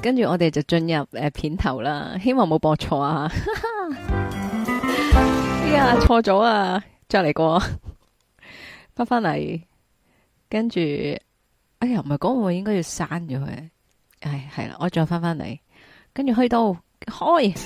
跟住我哋就進入片頭啦，希望冇播錯啊！哎呀，錯咗啊！再嚟過，翻嚟，跟住，哎呀，唔係講我應該要刪咗佢，係啦，我再翻嚟，跟住去到開。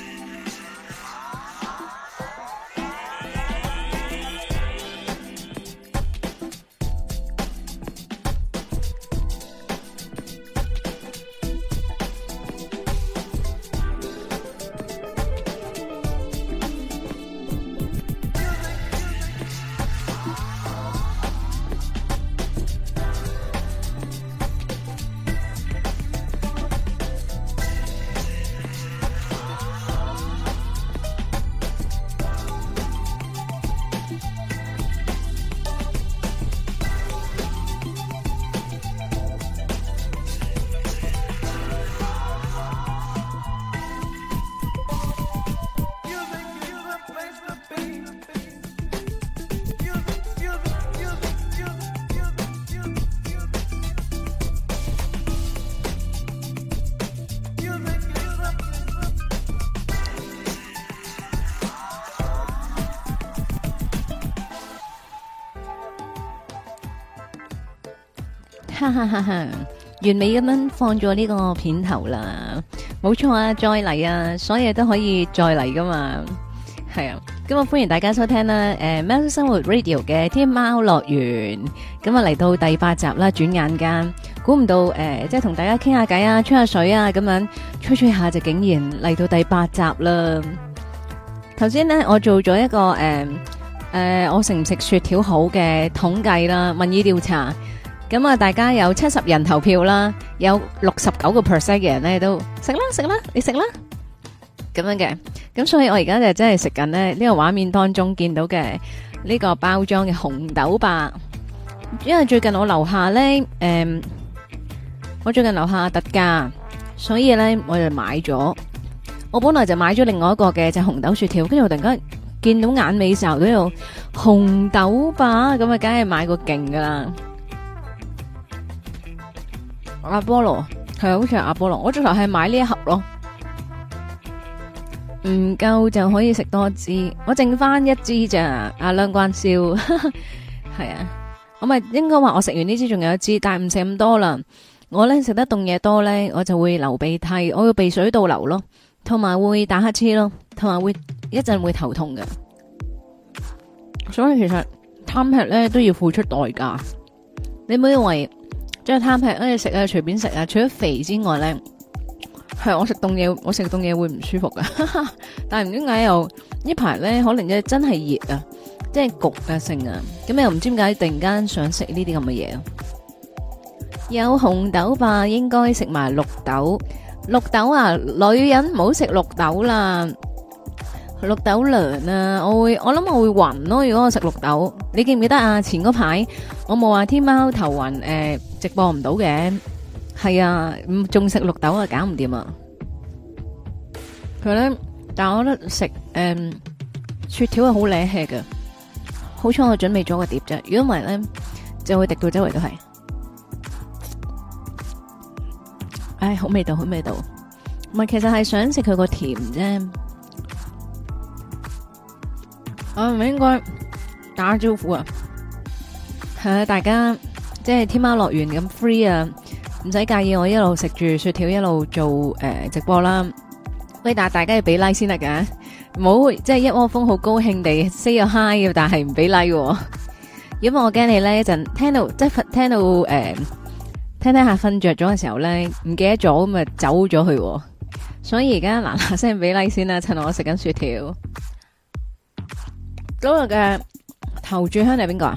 哈哈哈哈，完美咁樣放咗呢個片頭啦，冇錯啊，再嚟啊，所有都可以再嚟噶嘛，係啊，咁啊歡迎大家收聽啦，喵式生活 Radio 嘅天喵樂園，咁啊嚟到第8集啦，轉眼間，估唔到即係同大家傾下偈啊，吹下水啊，咁樣吹下就竟然嚟到第8集啦。頭先呢，我做咗一個我食唔食雪條好嘅統計啦，民意調查。咁啊，大家有70人投票啦，有69%嘅人咧都食啦，你食啦，咁樣嘅。咁所以我而家就真係食緊咧呢個畫面當中見到嘅呢個包裝嘅紅豆霸。因為最近我樓下咧，我最近樓下特價，所以咧我就買咗。我本來就買咗另外一個嘅就紅豆雪條，跟住我突然間見到眼尾睄到有紅豆霸，咁啊，梗係買個勁噶啦。阿波羅係好似係阿波羅，我最頭係買呢一盒咯，唔夠就可以食多支，我剩翻1支咋。阿梁關少係啊，我咪應該話我食完呢支仲有1支，但係唔食咁多啦。我咧食得凍嘢多咧，我就會流鼻涕，我要鼻水倒流咯，同埋會打乞嗤咯，同埋會一陣會頭痛嘅。所以其實貪吃咧都要付出代價，你唔好以為。即係貪吃，食啊隨便食啊，除咗肥之外咧，係我食凍嘢，我食凍嘢會唔舒服噶。但係唔知點解又呢排咧，可能真係熱啊，即係焗啊性啊，咁又唔知點解突然間想食呢啲咁嘅嘢。有紅豆吧，應該食埋綠豆。綠豆啊，女人唔好食綠豆啦。綠豆涼啊，我諗我會暈咯。如果我食綠豆，你記唔記得啊？前嗰排我冇話天喵頭暈，直播唔到嘅，係啊，仲食綠豆啊，搞唔掂啊！佢咧，但係我覺得食雪條係好瀨氣嘅，好彩我準備咗個碟啫，如果唔係咧就會滴到周圍都係。唉，好味道，好味道，唔係，其實係想食佢個甜啫。我係咪應該打招呼啊？係啊，大家即係天喵樂園咁 free 啊，唔使介意我一路食住雪條一路做直播啦。喂，但係大家要俾 like 先得噶，唔好即係一窩蜂好高興地 say 個 hi， 但係唔俾 like，因為我驚你咧一陣聽到即係聽到聽下瞓着咗嘅時候咧唔記得咗咁啊走咗去，所以而家嗱嗱聲俾 like 先啦，趁我食緊雪條。今日嘅頭炷香係邊個啊？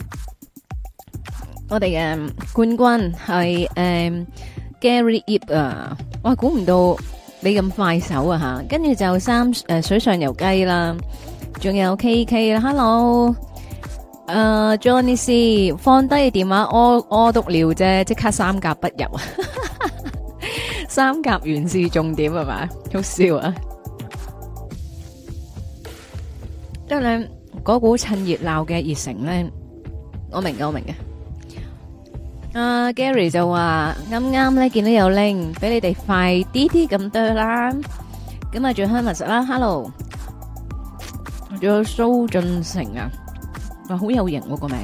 我哋嘅冠軍係Gary Ip 啊！我估唔到你咁快手啊吓！跟住就水上游雞啦，仲有 KK 啦 ，Hello， Johnny C 放低電話屙督尿啫，即刻3甲不入啊！3甲完是重點係嘛？好笑啊！即係咧，嗰股趁熱鬧嘅熱誠咧，我明嘅。 Gary 就話啱啱咧見到有 link 俾你哋快啲咁多啦。咁啊，仲有 Hermes 啦 ，Hello， 仲有蘇俊成啊，話好有型喎個名。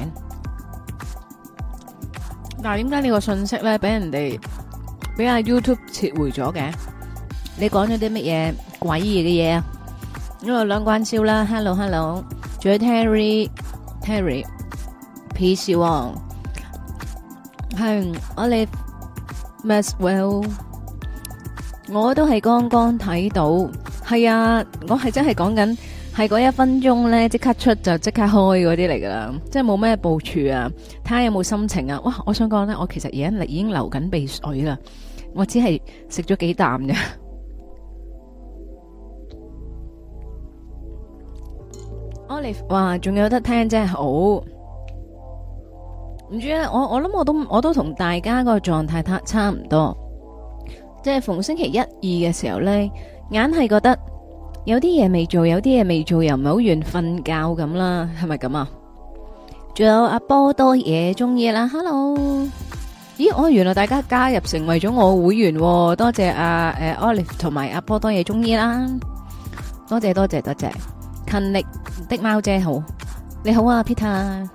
但係點解呢個信息咧俾人哋俾阿 YouTube 撤回咗嘅？你講咗啲乜嘢詭異嘅嘢啊？因為兩關燒啦 ，Hello， 仲有 Terry， Peace 王。係我哋 Maxwell， 我都係剛剛睇到，係啊，我係真係講緊係嗰1分鐘咧，即刻出就即刻開嗰啲嚟噶啦，即係冇咩部署啊，睇下有冇心情啊。哇，我想講咧，我其實而家已經流緊鼻水啦，我只係食咗幾啖啫。Olive 話仲有得聽真係好。唔知咧，我諗我都同大家個狀態差唔多，即係逢星期1、2嘅時候咧，硬係覺得有啲嘢未做，有啲嘢未做，又唔係好願瞓覺咁啦，係咪咁啊？仲有阿波多嘢中意啦 ，Hello， 咦，原來大家加入成為咗我會員，多謝阿Olive 同埋阿波多嘢中意啦，多謝，勤力的貓姐好，你好啊 Peter。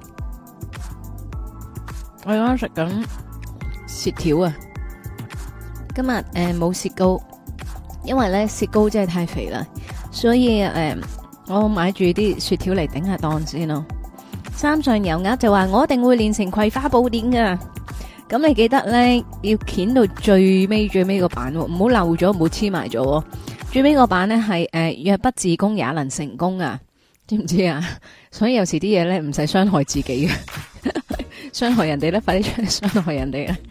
我而家食緊雪條啊！今日冇雪糕，因為咧雪糕真係太肥啦，所以我買住啲雪條嚟頂下檔先咯。三上油鴨就話我一定會練成葵花寶典噶，咁你記得咧要鉗到最尾個版，唔好漏咗，唔好黐埋咗。最尾個版咧係若不自宮也能成功啊，知唔知啊？所以有時啲嘢咧唔使傷害自己嘅。傷害人哋咧，快啲出嚟傷害人哋啊！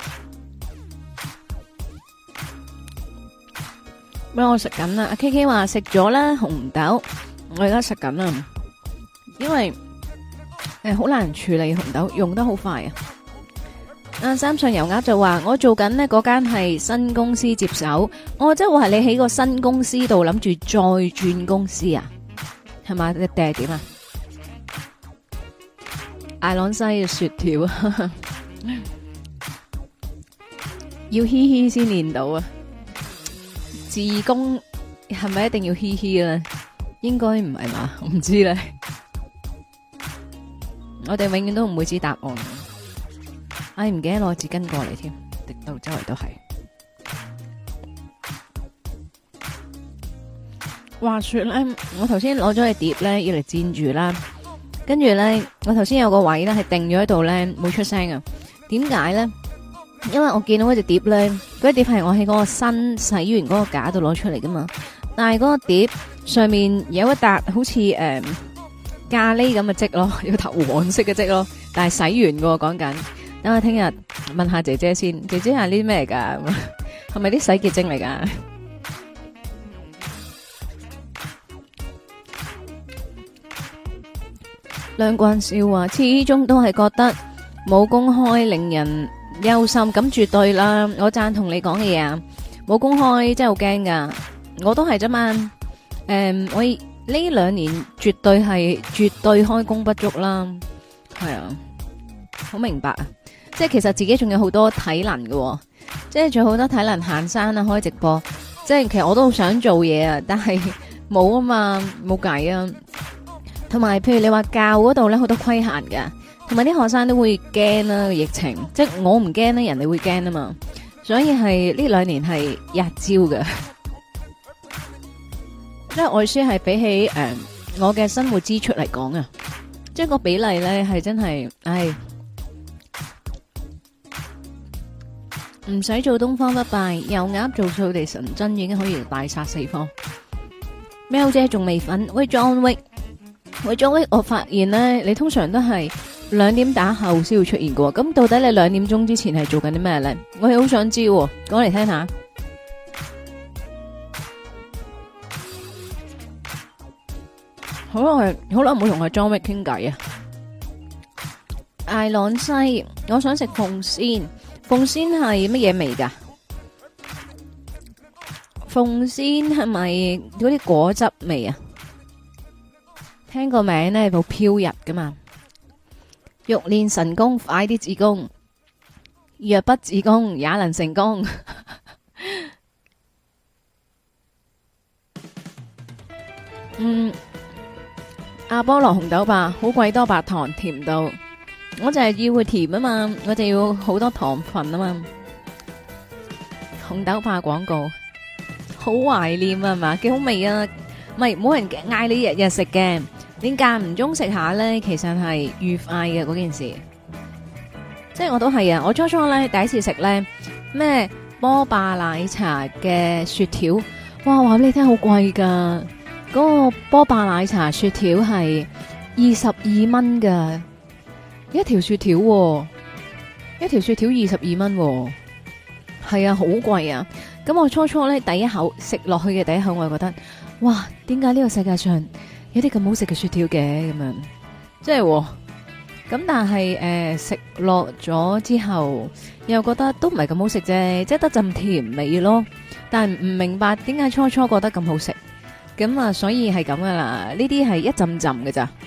咩？我食緊啦，阿 K K 話食咗啦紅豆，我而家食緊啦，因為好難處理紅豆，用得好快啊！阿三上油鴨就話我做緊呢嗰間係新公司接手，我即係話你喺個新公司度諗住再轉公司啊？係嘛？你定係點啊？艾朗西嘅雪條啊，要嘻嘻先練到啊！自宮係咪一定要嘻嘻咧？應該唔係嘛？我唔知咧。我哋永遠都唔會知答案。唉，唔記得攞紙巾過嚟添，滴到周圍都係。話說咧，我頭先攞咗個碟咧，要嚟煎住啦。跟住咧，我頭先有個位咧係定咗喺度咧，冇出聲啊。點解咧？因為我見到嗰隻碟咧，嗰隻碟係我喺嗰個新洗完嗰個架度攞出嚟噶嘛。但係嗰個碟上面有一笪好似咖喱咁嘅漬咯，有頭黃色嘅漬咯。但係洗完噶，講緊。等我聽日問下姐姐先，姐姐係呢啲咩嚟噶？係咪啲洗潔精嚟噶？梁冠少話，始終都係覺得冇公開令人憂心，咁絕對啦，我贊同你講嘅嘢啊！冇公開真係好驚噶，我都係啫嘛。我呢2年絕對開工不足啦，係啊，好明白啊！即係其實自己仲有好多體能嘅，即係仲有好多體能行山啊，開直播，即係其實我都好想做嘢啊，但係冇啊嘛，冇計啊！同埋，譬如你話教嗰度咧，好多規限㗎，同埋啲學生都會驚啦，疫情，即係我唔驚咧，人哋會驚啊嘛，所以係呢2年係日招嘅，即係外書係比起我嘅生活支出嚟講啊，即係個比例咧係真係，唉，唔使做東方不敗，油鴨做掃地神針已經可以大殺四方。喵姐仲未瞓，喂 John Wick。喂，John，我發現咧，你通常都係2點打後先會出現嘅，咁到底你2點鐘之前係做緊啲咩咧？我係好想知，講嚟聽下。好耐冇同阿 John Wick 傾偈啊！艾朗西，我想食鳳仙，鳳仙係乜嘢味噶？鳳仙係咪嗰啲果汁味啊？聽個名咧，好飄逸噶嘛！欲練神功，快啲自宮。 若不自宮也能成功。阿波羅紅豆霸好鬼多白糖，甜到我就係要佢甜啊嘛，我就要好多糖分啊嘛。紅豆霸廣告好懷念啊嘛，幾好味啊！唔係冇人嗌你日日食嘅，你間唔中食下咧，其實係愉快嘅嗰件事。即係我都係啊！我初初咧第一次食咧咩波霸奶茶嘅雪條，哇！話俾你聽好貴噶，嗰個波霸奶茶雪條係22蚊噶，一條雪條喎，一條雪條22蚊喎，係啊，好貴啊！咁我初初咧第一口食落去嘅第一口，我就覺得，哇！點解呢個世界上有啲咁好食嘅雪條嘅咁樣？即係。咁但係食落咗之後，又覺得都唔係咁好食啫，即係得陣甜味咯。但係唔明白點解初初覺得咁好食，咁啊，所以係咁噶啦。呢啲係一浸浸嘅咋。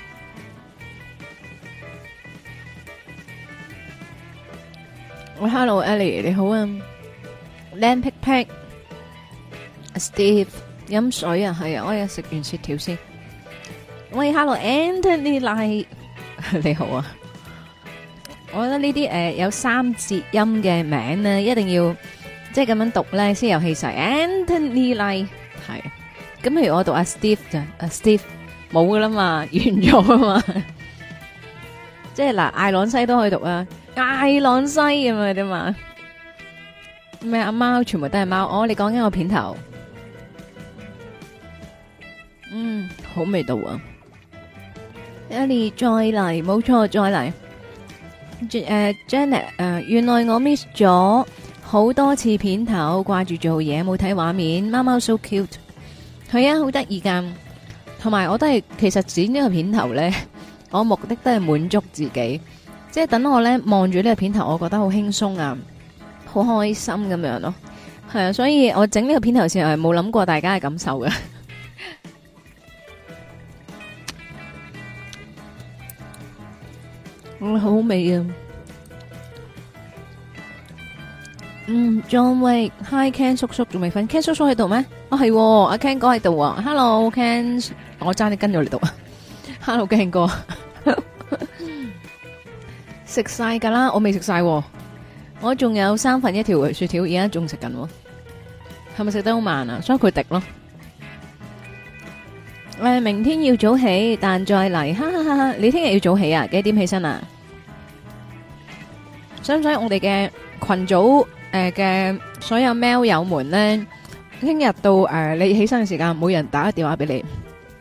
喂，Hello Ellie，你好啊。Lamp pick pick，Steve 飲水啊，係啊，我要食完雪條先。喂，Hello Anthony 賴。你好啊，我覺得呢啲有3節音嘅名咧，一定要即係咁樣讀咧先有氣勢。Anthony Lee 係，咁譬如我讀阿 Steve 就阿 Steve 冇噶啦嘛，完咗啊嘛，即係嗱，艾朗西都可以讀啊，艾朗西咁啊啫嘛。咩阿貓全部都係貓，哦，你講緊個片頭，好味道啊！Ellie 再嚟，冇錯，再嚟。Janet， 原來我 miss 咗好多次片頭，掛住做嘢，冇睇畫面。貓貓 so cute， 係啊，好得意噶。同埋我都係，其實剪呢個片頭咧，我目的都係滿足自己，即係等我咧望住呢個片頭，我覺得好輕鬆啊，好開心咁樣咯。係啊，所以我整呢個片頭時候係冇諗過大家嘅感受嘅。好味啊！John Wick，Hi Ken 叔叔仲未瞓 ，Ken 叔叔喺度咩？哦係，阿 Ken 哥喺度啊 ！Hello Ken， 我爭啲跟咗你讀啊 ！Hello Ken 哥，食晒噶啦，我未食晒，我仲有1/3條雪條，而家仲食緊，係咪食得好慢啊？所以佢滴咯。明天要早起，但再嚟，哈哈哈哈！你聽日要早起啊？幾點起身啊？使唔使我哋嘅群組嘅所有喵友們咧，聽日到你起身嘅時間，每人打個電話俾你，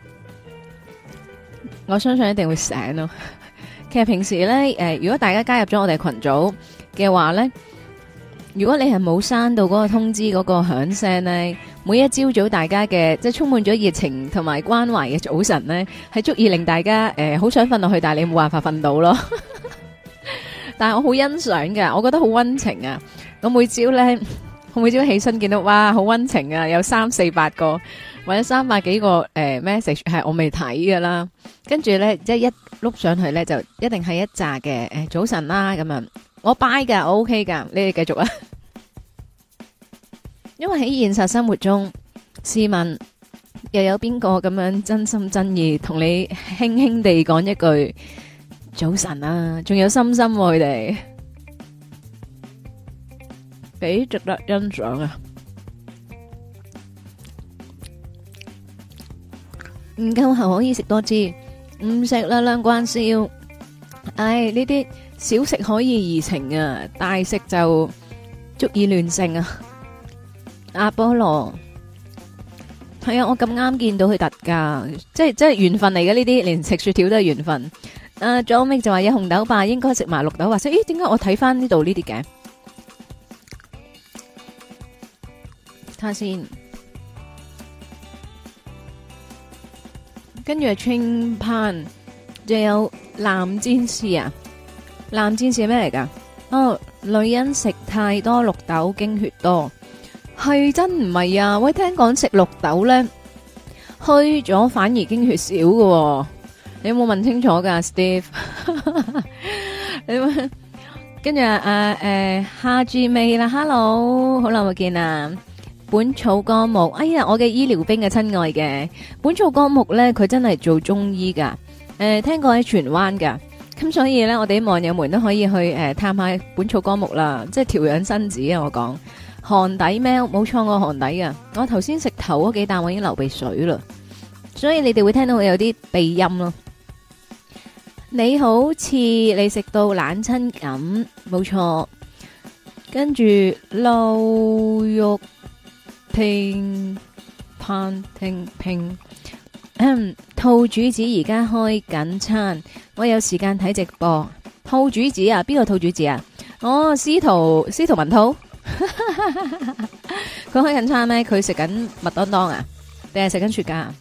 我相信一定會醒咯。其實平時咧，如果大家加入咗我哋群組嘅話咧，如果你係冇刪到嗰個通知嗰個響聲咧，每一朝早大家嘅即係充滿咗熱情同埋關懷嘅早晨咧，係足以令大家好想瞓落去，但係你冇辦法瞓到咯。但係我好欣賞嘅，我覺得好溫情啊！我每朝起身見到哇，好溫情啊，有300-400個或者300幾個message 係我未睇噶啦，跟住咧即係一碌上去咧就一定係一紮嘅早晨啦咁樣，我 buy 噶，我 OK 噶，你哋繼續啊！因為喺現實生活中，試問又有邊個咁樣真心真意同你輕輕地講一句早晨啊？仲有心心佢哋，幾值得欣賞啊！唔夠喉可以食多支，唔食啦，兩關燒。唉，呢啲小食可以怡情啊，大食就足以亂性啊！阿波羅係啊，我咁啱見到佢特價，即係緣分嚟嘅呢啲，連食雪條都係緣分。John Mick 就話有紅豆霸，應該食埋綠豆，或者咦？點解我睇翻呢度呢啲嘅？睇下先，跟住係青pan，仲有藍戰士啊！藍戰士係咩嚟噶？哦，女人食太多綠豆經血多。係真唔係啊！喂，聽講食綠豆咧，虛咗反而經血少喎。你有冇問清楚噶，Steve？ 跟住哈 G 妹啦，Hello，好耐冇見啦。本草綱目，哎呀，我嘅醫療兵嘅親愛嘅本草綱目咧，佢真係做中醫噶，聽過喺荃灣噶，咁所以咧，我哋啲網友們都可以去探下本草綱目啦，即係調養身子啊！我講寒底喵，冇錯，我寒底啊！我頭先食頭嗰幾啖，我已經流鼻水啦，所以你哋會聽到我有啲鼻音咯。你好似你食到冷親咁，冇錯。跟住漏肉拼pan拼拼，兔主子而家開緊餐，我有時間睇直播。兔主子啊，邊個兔主子啊？哦，司徒文兔，佢開緊餐咩？佢食緊麥當當啊，定係食緊雪茄啊？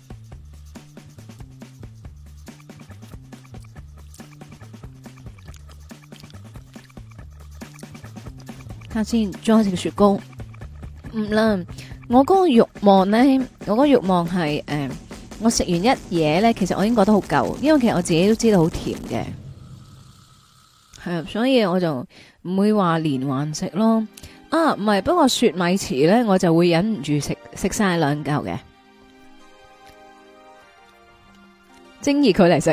先再食雪糕，唔啦，我嗰個慾望咧，我嗰個慾望係我食完一嘢咧，其實我已經覺得好夠，因為其實我自己都知道好甜嘅，係啊，所以我就唔會話連環食咯。啊，唔係，不過雪米糍咧，我就會忍唔住食晒2嚿嘅，精意佢嚟食。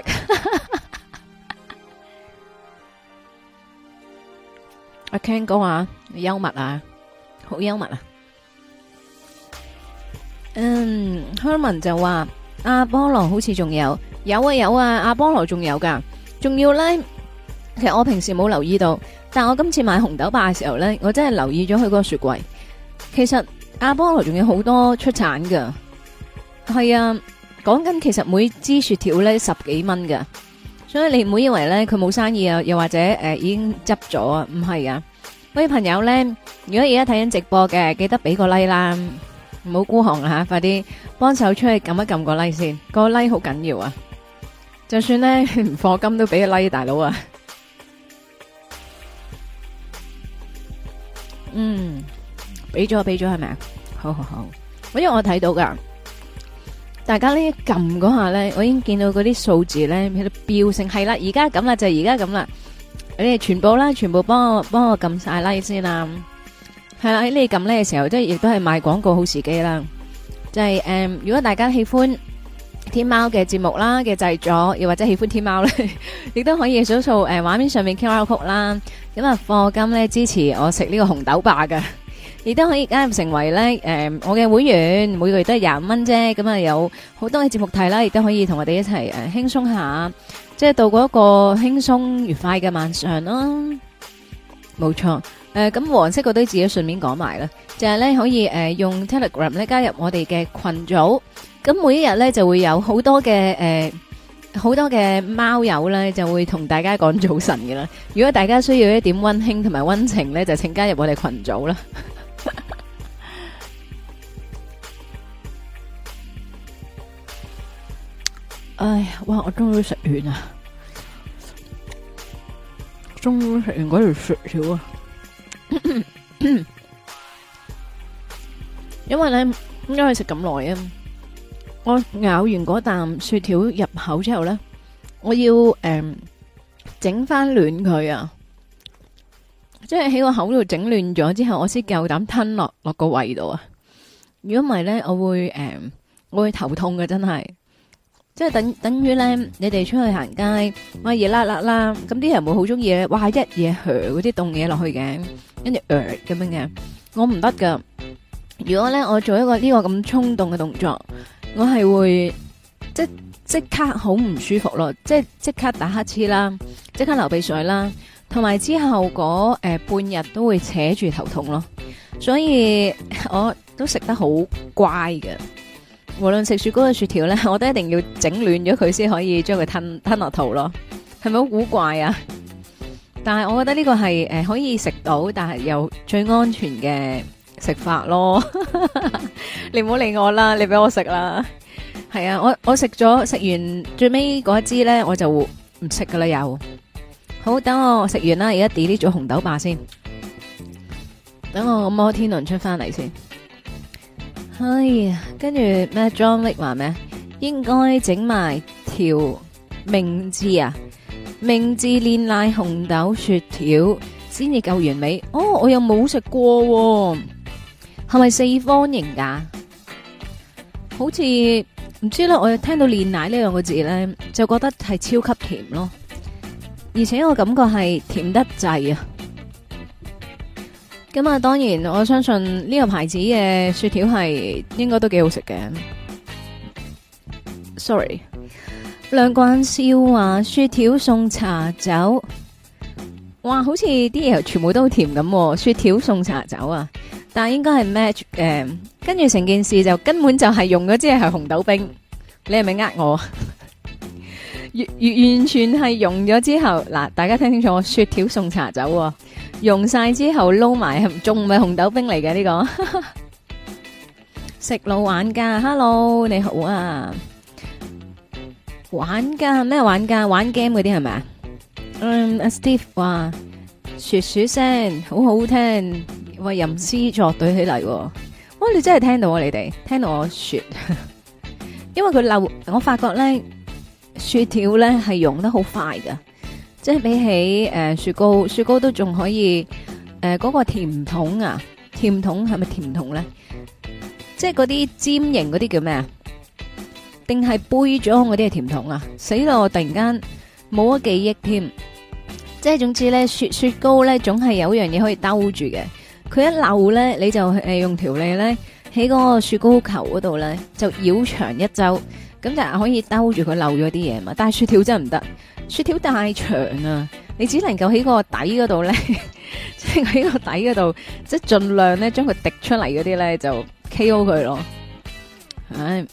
阿 Ken 講話幽默啊，好幽默啊。Herman 就話阿波羅好似仲有啊，阿波羅仲有噶，仲要咧。其實我平時冇留意到，但我今次買紅豆霸嘅時候咧，我真係留意咗佢嗰個雪櫃。其實阿波羅仲有好多出產噶，係啊，講緊其實每支雪條咧10幾蚊噶。所以你唔好以為咧佢冇生意啊，又或者已經執咗啊，唔係啊！各位朋友咧，如果而家睇緊直播嘅，記得俾個 like 啦，唔好孤寒吓，快啲幫手出去撳一撳個 like 先，個 like 好緊要啊！就算咧唔課金都俾個 like，大佬啊！俾咗係咪啊？好，因為我睇到噶。大家呢撳嗰下咧，我已經見到嗰啲數字咧喺度飆升，係啦，而家咁啦，就而家咁啦。你哋全部幫我撳晒 like 先啦。係啦，喺你撳呢嘅時候，即係亦都係賣廣告好時機啦。就係如果大家喜歡天貓嘅節目啦嘅製作，又或者喜歡天貓咧，亦都可以掃掃畫面上面 QR code 啦。咁啊，課金咧支持我食呢個紅豆霸㗎。亦都可以加入成為咧，我嘅會員，每個月都係25蚊啫。咁啊，有好多嘅節目睇啦，亦都可以同我哋一齊輕鬆下，即係度過一個輕鬆愉快嘅晚上啦。冇錯，咁黃色嗰堆字都順便講埋啦，就係咧可以用 Telegram 咧加入我哋嘅群組。咁每一日咧就會有好多嘅貓友咧就會同大家講早晨嘅啦。如果大家需要一點溫馨同埋溫情咧，就請加入我哋群組啦。哎呀，哇！我終於食完啦，終於食完嗰條雪條啊！因為咧，因為食咁耐啊，我咬完嗰啖雪條入口之後咧，我要整翻暖佢啊！即係喺個口度整暖咗之後，我先夠膽吞落個胃度啊！如果唔係咧，我會頭痛嘅，真係。即係等於咧，你哋出去行街，哇熱辣辣啦，咁啲人會好中意咧，哇一嘢靴嗰啲凍嘢落去嘅，跟住咁樣嘅，我唔得噶。如果咧我做一個呢個咁衝動嘅動作，我係會即刻好唔舒服咯，即刻打乞嗤啦，即刻流鼻水啦，同埋之後嗰半日都會扯住頭痛咯，所以我都食得好乖嘅。無論食雪糕嘅雪條咧，我都一定要整暖咗佢先可以將佢吞落肚咯，係咪好古怪啊？但係我覺得呢個係可以食到，但係又最安全嘅食法咯。你唔好理我啦，你俾我食啦。係啊，我食完最尾嗰一支咧，我就唔食噶啦又。好，等我食完啦，而家 delete 咗紅豆霸先。等我摩天輪出翻嚟先。哎呀，跟住咩 John Wick 話咩？應該整埋條明治啊，明治煉奶紅豆雪條， 先至夠完美。哦，我又冇食過喎，係咪四方形噶？好似唔知啦，我又聽到煉奶呢兩個字咧，就覺得係超級甜咯，而且我感覺係甜得滯啊！咁啊，當然我相信呢個牌子嘅雪條係應該都幾好食嘅。Sorry， 梁冠少話雪條送茶酒，哇，好似啲嘢全部都好甜咁。雪條送茶酒啊，但係應該係 match 嘅。跟住成件事就根本就係用咗，即係紅豆冰。你係咪呃我？完全係用咗之後，嗱，大家聽清楚，雪條送茶酒喎，用晒之後撈埋，仲唔係紅豆冰嚟嘅呢個？食腦玩家 ，Hello， 你好啊！玩家咩玩家？玩 game 嗰啲係咪啊？阿 Steve 話雪雪聲好好聽，為吟詩作對起嚟。哇，你真係聽到啊！你哋聽到我雪，因為佢漏，我發覺咧。雪條咧係溶得好快噶，即係比起雪糕，雪糕都仲可以嗰個甜筒啊，甜筒係咪甜筒咧？即係嗰啲尖形嗰啲叫咩啊？定係杯裝嗰啲係甜筒啊？死到我突然間冇咗記憶添。即係總之咧，雪糕咧總係有樣嘢可以兜住嘅。佢一漏咧，你就用條脷咧喺嗰個雪糕球嗰度咧就繞長一周。咁就係可以兜住佢漏咗啲嘢嘛，但係雪條真係唔得，雪條太長啊，你只能夠喺個底嗰度咧，即係喺個底嗰度，即係盡量咧將佢滴出嚟嗰啲咧就 KO 佢咯。唉，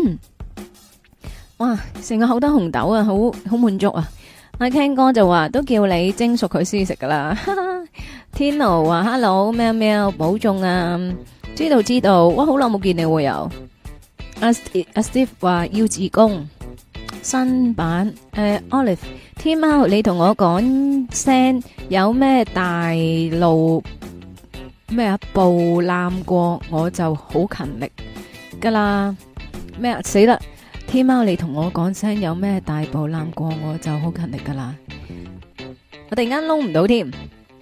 哇，成個口得紅豆啊，好滿足啊！阿 Ken 哥就話都叫你蒸熟佢先食噶啦。天奴話 Hello， 喵喵，保重啊！知道，哇，好耐冇見你會有。阿 Steve 話要自宮新版Olive 天貓，你同我講聲有咩大路咩啊步攬過我就好勤力噶啦咩啊死啦！天貓你同我講聲有咩大步攬過我就好勤力噶啦，我突然間撈唔到添。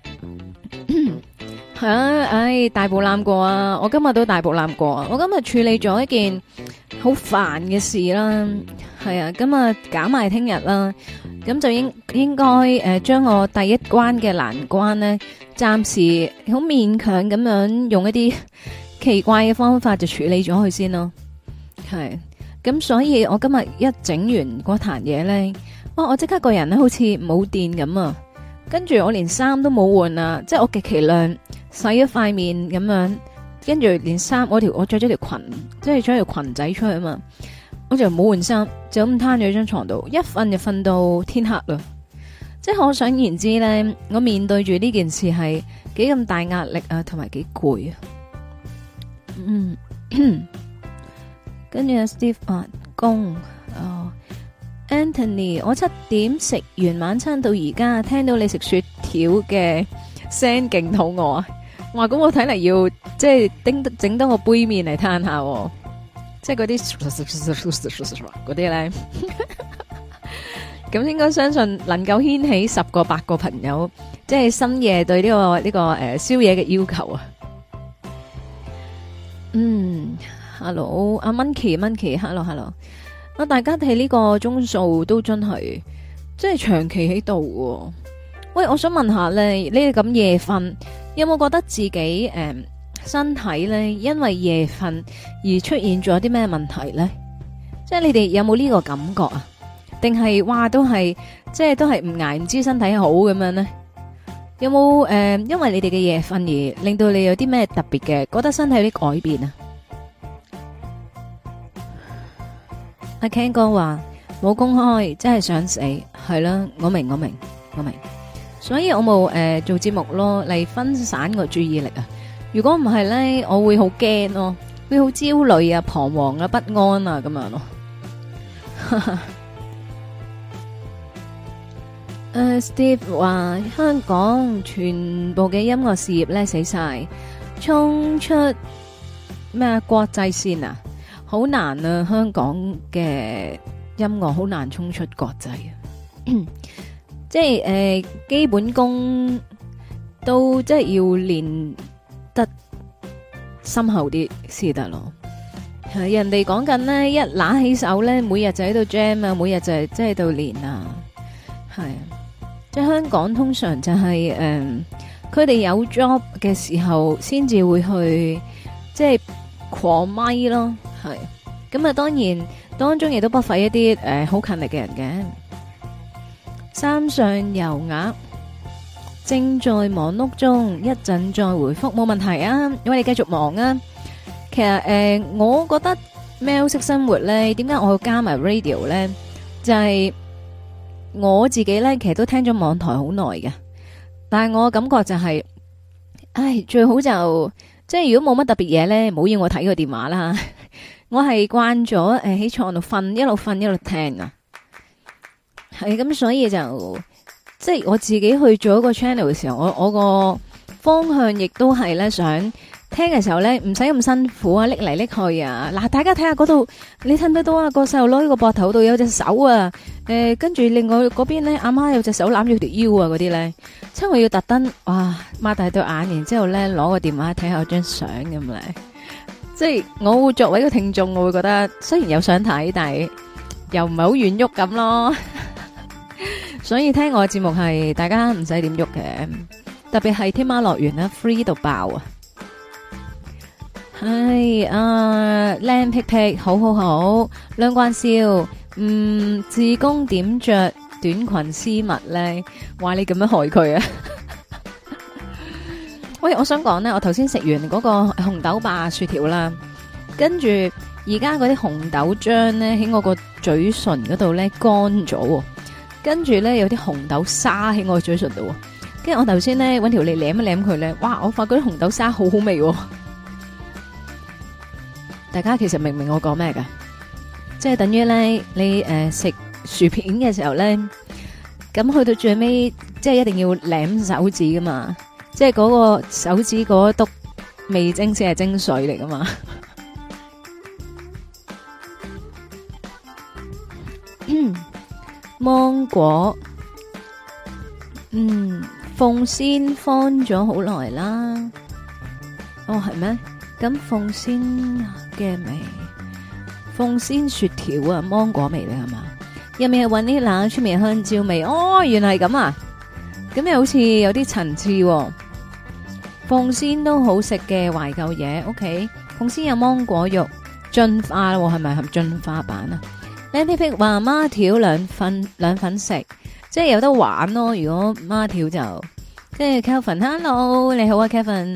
係啊，唉，大步攬過啊！我今日都大步攬過啊！我今日處理咗一件好煩嘅事啦，係啊，咁啊搞埋聽日啦，咁就應該將我第一關嘅難關呢，暫時好勉強咁樣用一啲奇怪嘅方法就處理咗佢先咯，係，咁所以我今日一整完嗰壇嘢呢，哇！我即刻個人咧好似冇電咁啊，跟住我連衫都冇換啊，即係我極其量洗咗塊面咁樣。跟住連衫我着咗條裙，即係着條裙仔出去啊嘛，我就冇換衫，就咁攤咗喺張床度，一瞓就瞓到天黑啦。即係可想而知咧，我面對住呢件事係幾咁大壓力啊，同埋幾攰啊。跟住阿 Steve 話公Anthony， 我7點食完晚餐到而家，聽到你食雪條嘅聲勁肚餓啊！哇，咁我睇嚟要即係整多個杯麵嚟攤下，即係嗰啲嗰啲咧，咁應該相信能夠掀起10個8個朋友，即係深夜對呢個宵夜嘅要求啊。Hello， 阿 Monkey，Hello， 啊，大家睇呢個鐘數都真係，即係長期喺度。喂，我想問下咧，你哋咁夜瞓，有冇覺得自己身體咧因為夜瞓而出現咗啲咩問題咧？即係你哋有冇呢個感覺啊？定係話都係即係都係唔捱唔知身體好咁樣咧？有冇因為你哋嘅夜瞓而令到你有啲咩特別嘅覺得身體有啲改變啊？阿 Ken 哥話冇公開，真係想死，係啦，我明，所以我冇做節目咯，嚟分散個注意力啊。如果唔係咧，我會好驚咯，會好焦慮啊、彷徨啊、不安啊咁樣咯。Steve 話香港全部嘅音樂事業咧死晒，衝出咩國際線啊，好難啊！香港嘅音樂好難衝出國際啊，即係基本功都即係要練得深厚啲先得咯。係人哋講緊咧，一拿起手咧，每日就喺度 jam 啊，每日就係即係喺度練啊。係即係香港通常就係佢哋有 job 嘅時候先至會去即係狂咪咯。係咁啊，當然當中亦都不乏一啲好勤力嘅人嘅。山上游鴨正在忙碌中，一陣再回覆冇問題啊，因為你繼續忙啊。其實我覺得喵式生活咧，點解我要加埋 radio 咧？就係我自己咧，其實都聽咗網台好耐嘅，但係我感覺就係，最好就即係如果冇乜特別嘢咧，唔好要我睇個電話啦。我係慣咗喺床度瞓，一路瞓一路聽啊。係咁，所以就即係我自己去做一個 channel 嘅時候，我個方向亦都係咧想。聽嘅時候咧，唔使咁辛苦啊，拎嚟拎去啊！嗱，大家睇下嗰度，你睇唔睇到啊？個細路攞呢個膊頭度有隻手啊，跟住另外嗰邊咧，阿媽有隻手攬住條腰啊，嗰啲咧，即係我要特登，哇，擘大對眼，然之後咧攞個電話睇下張相咁咧，即係我會作為一個聽眾，我會覺得雖然有想睇，但係又唔係好願喐咁咯。所以聽我嘅節目係大家唔使點喐嘅，特別係天喵樂園啦 ，free 到爆啊！係靚皮皮，好好好，兩關笑，自宮點着短裙絲襪咧，話你咁樣害佢啊！喂，我想講咧，我頭先食完嗰個紅豆霸雪條啦，跟住而家嗰啲紅豆漿咧喺我個嘴唇嗰度咧乾咗，跟住咧有啲紅豆沙喺我嘴唇度，跟住我頭先咧搵條脷舐一舐佢咧，哇！我發覺啲紅豆沙好好味。大家其實明唔明我講咩噶？即係等於咧，你食薯片嘅時候咧，咁去到最尾，即係一定要舐手指噶嘛，即係嗰個手指嗰篤味精先係精髓嚟噶嘛。芒果，鳳仙放咗好耐啦。哦，係咩？咁鳳仙嘅味，鳳仙雪條啊，芒果味嚟係嘛？入面係搵啲冷出面香蕉味，哦，原來係咁啊！咁又好似有啲層次。鳳仙都好食嘅懷舊嘢，OK。鳳仙有芒果肉進化啦，係咪係進化版啊？靚皮皮話孖條兩份食，即係有得玩咯。如果孖條就，跟住 Kevin，Hello， 你好啊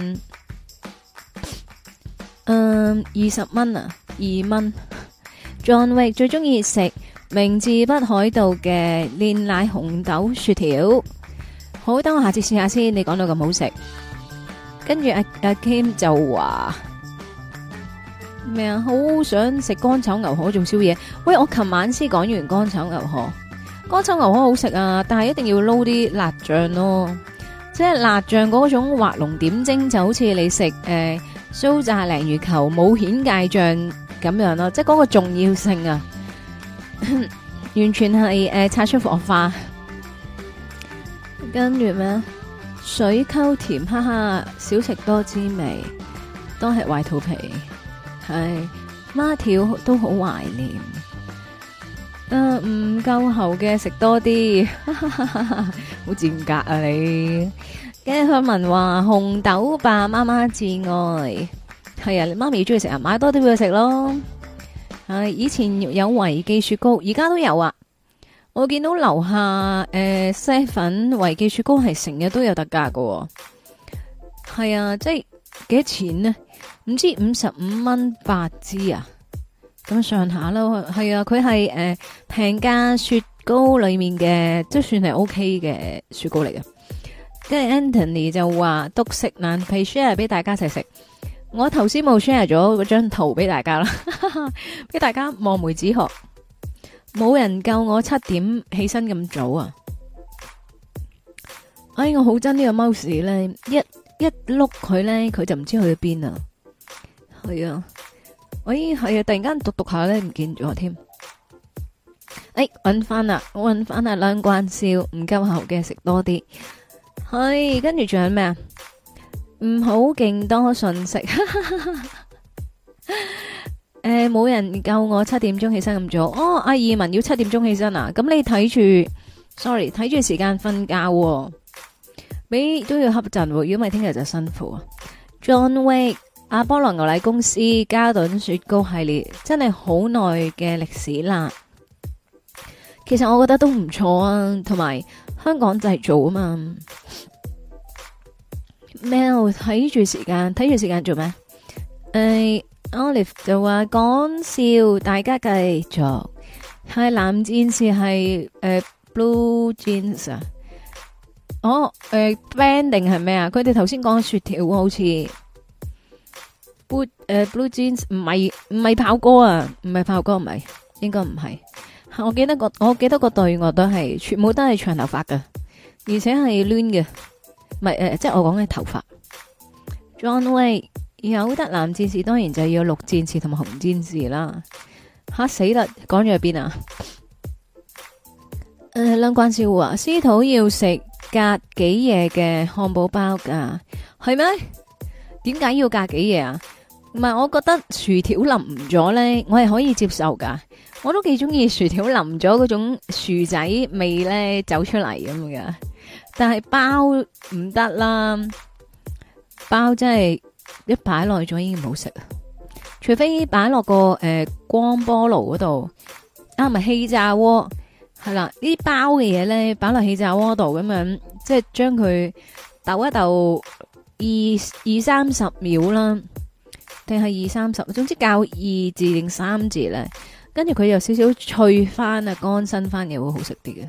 Kevin。20蚊啊，2蚊。John Wick 最中意食明治北海道嘅煉奶紅豆雪條。好，等我下次試下先。你講到咁好食，跟住阿 Kim 就話咩啊？好想食乾炒牛河做宵夜。喂，我琴晚先講完乾炒牛河，乾炒牛河好食啊，但係一定要撈啲辣醬咯。即係辣醬嗰種畫龍點睛，就好似你食酥炸鯪魚球冇顯芥醬咁樣咯，即係嗰個重要性啊，完全係擦出火花。跟住咩水溝甜，哈哈，少食多滋味，都係壞肚皮。係孖條都好懷念，唔夠喉嘅食多啲，好賤格啊你！跟住佢問話紅豆霸媽媽至愛，係啊，你媽咪中意食啊，買多啲俾佢食咯。係以前有維記雪糕，而家都有啊。我見到樓下西粉維記雪糕係成日都有特價噶。係啊，即係幾多錢呢？唔知55蚊8支啊，咁上下咯。係啊，佢係平價雪糕裏面嘅，即係算係 OK 嘅雪糕嚟嘅。跟住 Anthony 就話獨食難皮 share 俾大家一齊食，我頭先冇 share 咗嗰張圖俾大家啦，俾大家望梅止渴。冇人夠我7點起身咁早啊！哎，我好憎呢個 mouse 咧，一碌佢咧，佢就唔知去咗邊啊！係啊，係啊，突然間讀下咧，唔見咗添。搵翻啦，我搵翻啦，兩關笑唔夠喉嘅食多啲。 係跟住仲有咩啊？唔好勁多信息。冇人夠我7點鐘起身咁早。哦，阿義文要7點鐘起身啊？咁你睇住，sorry，睇住時間瞓覺喎，你都要瞌陣喎。如果唔係聽日就辛苦啊。John Wick、阿波羅牛奶公司、嘉頓雪糕系列，真係好耐嘅歷史啦。其實我覺得都唔錯啊，同埋香港製造啊嘛。咩？睇住時間做咩？Olive 就話講笑，大家繼續。係藍戰士係Blue Jeans 啊。哦，band 定係咩啊？佢哋頭先講雪條好似 Blue Jeans 唔係炮哥啊，唔係炮哥，唔係，應該唔係。我記得個隊我都係全部都係長頭髮㗎，而且係攣嘅，唔係即係我講嘅頭髮。John Wick 有得藍戰士，當然就要綠戰士同埋紅戰士啦。吓死啦！講咗去邊啊？兩關少啊，司徒要食隔幾夜嘅漢堡包噶，係咩？點解要隔幾夜啊？唔係，我覺得薯條淋咗呢，我係可以接受噶。我都幾中意薯條淋咗嗰種薯仔味呢走出嚟咁噶。但係包唔得啦，包真係一擺耐咗已經唔好食啊！除非擺落個光波爐嗰度，啊唔係氣炸鍋，係啦，呢啲包嘅嘢咧擺落氣炸鍋度咁樣，即係將佢抖一抖20-30秒啦，定係20-30，總之較2字定3字咧，跟住佢有少少脆翻啊，乾身翻嘅會好食啲嘅。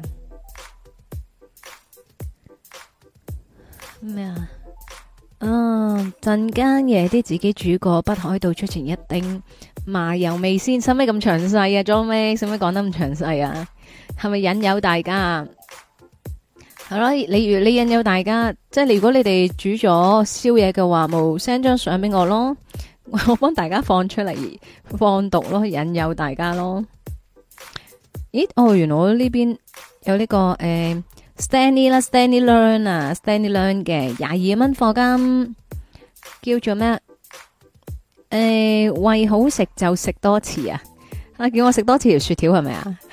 咩啊？陣間夜啲自己煮過北海道出前一丁麻油味先，使咩咁詳細啊？John Wick使咩講得咁詳細啊？係咪引誘大家啊？係咯，你引誘大家，即係如果你哋煮咗宵夜嘅話，冇 send 張相俾我咯，我幫大家放出嚟放毒咯，引誘大家咯。咦？哦，原來我呢邊有呢個Stanley 啦 ，Stanley Learn 啊 ，Stanley Learn 嘅22蚊課金，叫做咩？為好食就食多次啊！叫我食多次條雪條係咪啊？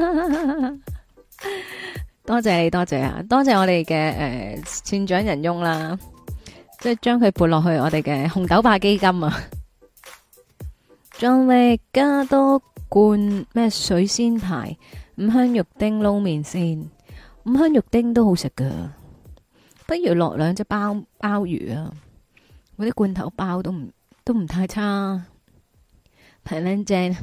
多謝你，多謝啊，多謝我哋嘅善長人翁啦，即係將佢撥落去我哋嘅紅豆霸基金啊！仲力加多罐咩水仙牌五香肉丁撈麵先。五香肉丁都好食噶，不如落兩隻鮑魚啊！嗰啲罐頭包都唔太差，平靚正。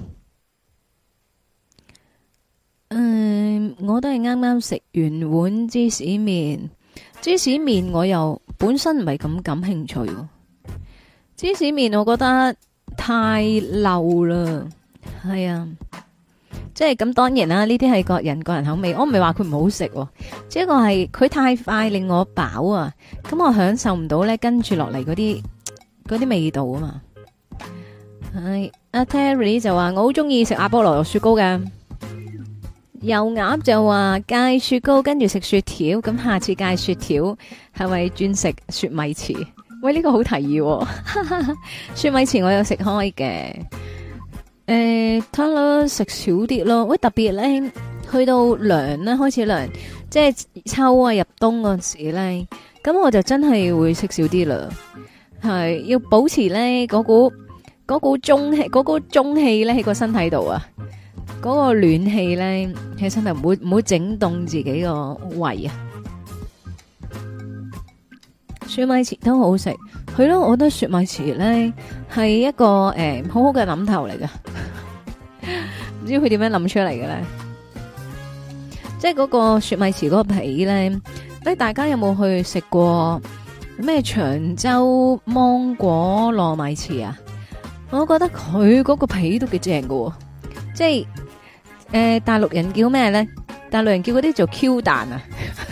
我都係啱啱食完碗芝士麵，芝士麵我又本身唔係咁感興趣。芝士麵我覺得太漏啦，係啊。即係咁，當然啦，呢啲係個人口味，我唔係話佢唔好食，只不過係佢太快令我飽啊，咁我享受唔到咧，跟住落嚟嗰啲味道啊嘛。係阿 Terry 就話我好中意食阿波羅雪糕嘅，油鴨就話戒雪糕跟住食雪條，咁下次戒雪條係咪轉食雪米糍？喂，呢個好提議，雪米糍我有食開嘅。睇啦，食少啲咯。喂，特別咧，去到涼咧，開始涼，即係秋啊入冬嗰時咧，咁我就真係會食少啲啦。係要保持咧嗰股中氣咧喺個身體度啊，嗰個暖氣咧喺身體唔會整凍自己個胃啊。雪米糍都好食，係咯，我覺得雪米糍咧係一個好好嘅諗頭嚟噶，唔知佢點樣諗出嚟嘅咧？即係嗰個雪米糍嗰個皮咧，大家有冇去食過咩長洲芒果糯米糍啊？我覺得佢嗰個皮都幾正噶，即係大陸人叫咩咧？大陸人叫嗰啲做 Q 彈啊！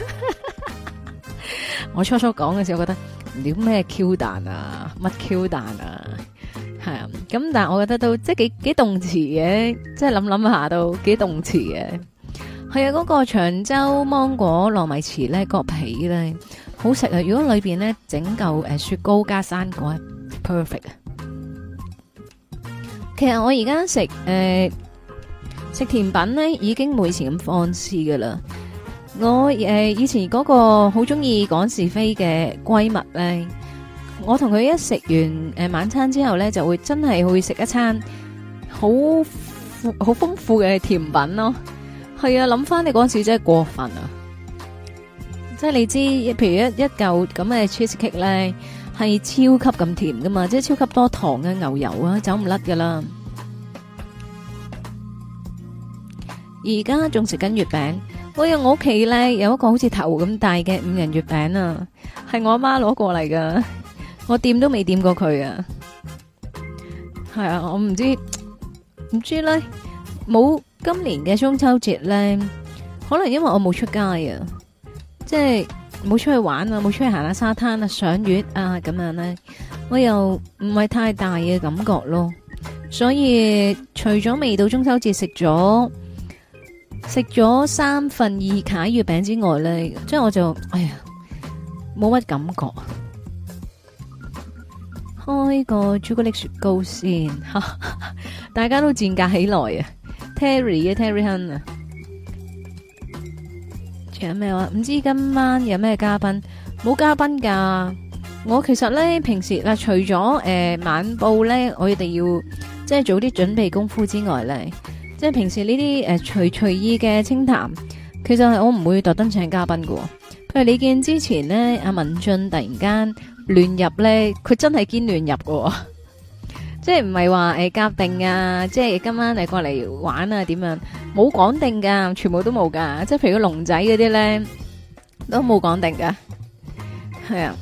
我初初講嘅時候，我覺得唔知咩 Q 彈啊，乜 Q 彈啊，係啊，咁但係我覺得都即係幾動詞嘅，即係諗下都幾動詞嘅。係啊，嗰個長洲芒果糯米糍咧個皮咧好食啊！如果裏邊咧整嚿雪糕加生果，perfect 啊！其實我而家食甜品咧，已經冇以前咁放肆噶啦。我以前嗰個好中意講是非嘅閨蜜咧，我同佢一食完晚餐之後咧，就會真係會食一餐好豐富嘅甜品咯。係啊，諗翻你嗰陣時真係過分啊！即係你知，譬如一嚿咁嘅 cheese cake 咧，係超級咁甜噶嘛，即係超級多糖嘅牛油啊，走唔甩噶啦。而家仲食緊月餅，我屋企咧有一個好似頭咁大嘅5仁月餅啊，係我阿媽攞過嚟噶，我掂都未掂過佢啊。係啊，我唔知咧，冇今年嘅中秋節咧，可能因為我冇出街啊。即係冇出去玩啊，冇出去行下沙灘啊、賞月啊咁樣咧，我又唔係太大嘅感覺咯。所以除咗未到中秋節食咗2/3卡月餅之外咧，即係我就哎呀冇乜感覺。開個朱古力雪糕先，大家都賤格起來啊 ！Terry 啊 ，Terry Hun 啊！有咩話？唔知今晚有咩嘉賓？冇嘉賓噶。我其實咧平時嗱，除咗晚報咧，我哋要即係做啲準備功夫之外咧，即係平時呢啲隨意嘅清談，其實係我唔會特登請嘉賓噶。譬如你見之前咧，阿文進突然間亂入咧，佢真係堅亂入噶。即係唔係話夾定啊，即係今晚過嚟玩啊點樣？冇講定噶，全部都冇噶。即係譬如個龍仔嗰啲咧，都冇講定噶。係啊，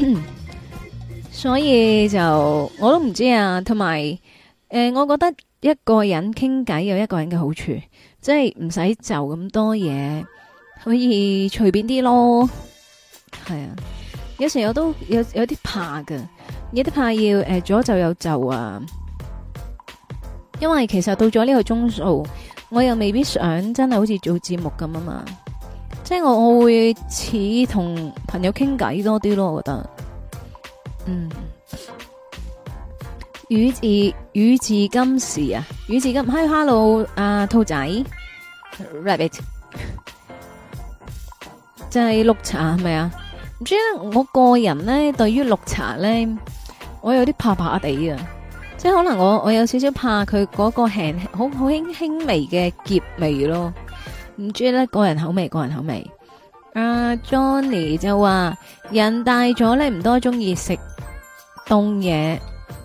所以就我都唔知啊。同埋我覺得一個人傾偈有一個人嘅好處，即係唔使就咁多嘢，可以隨便啲咯。係啊，有時我都有啲怕噶。有啲怕要左就有就啊，因為其實到咗呢個鐘數，我又未必想真係好似做節目咁啊嘛，即係我會似同朋友傾偈多啲咯，我覺得，宇治今時啊，宇治今，hello 兔仔 ，rabbit， 就係綠茶係咪啊？唔知咧，我個人咧對於綠茶咧，我有啲怕怕地啊，即係可能我有少少怕佢嗰個好輕微嘅澀味咯，唔知咧個人口味。Johnny 就話人大咗咧唔多中意食凍嘢，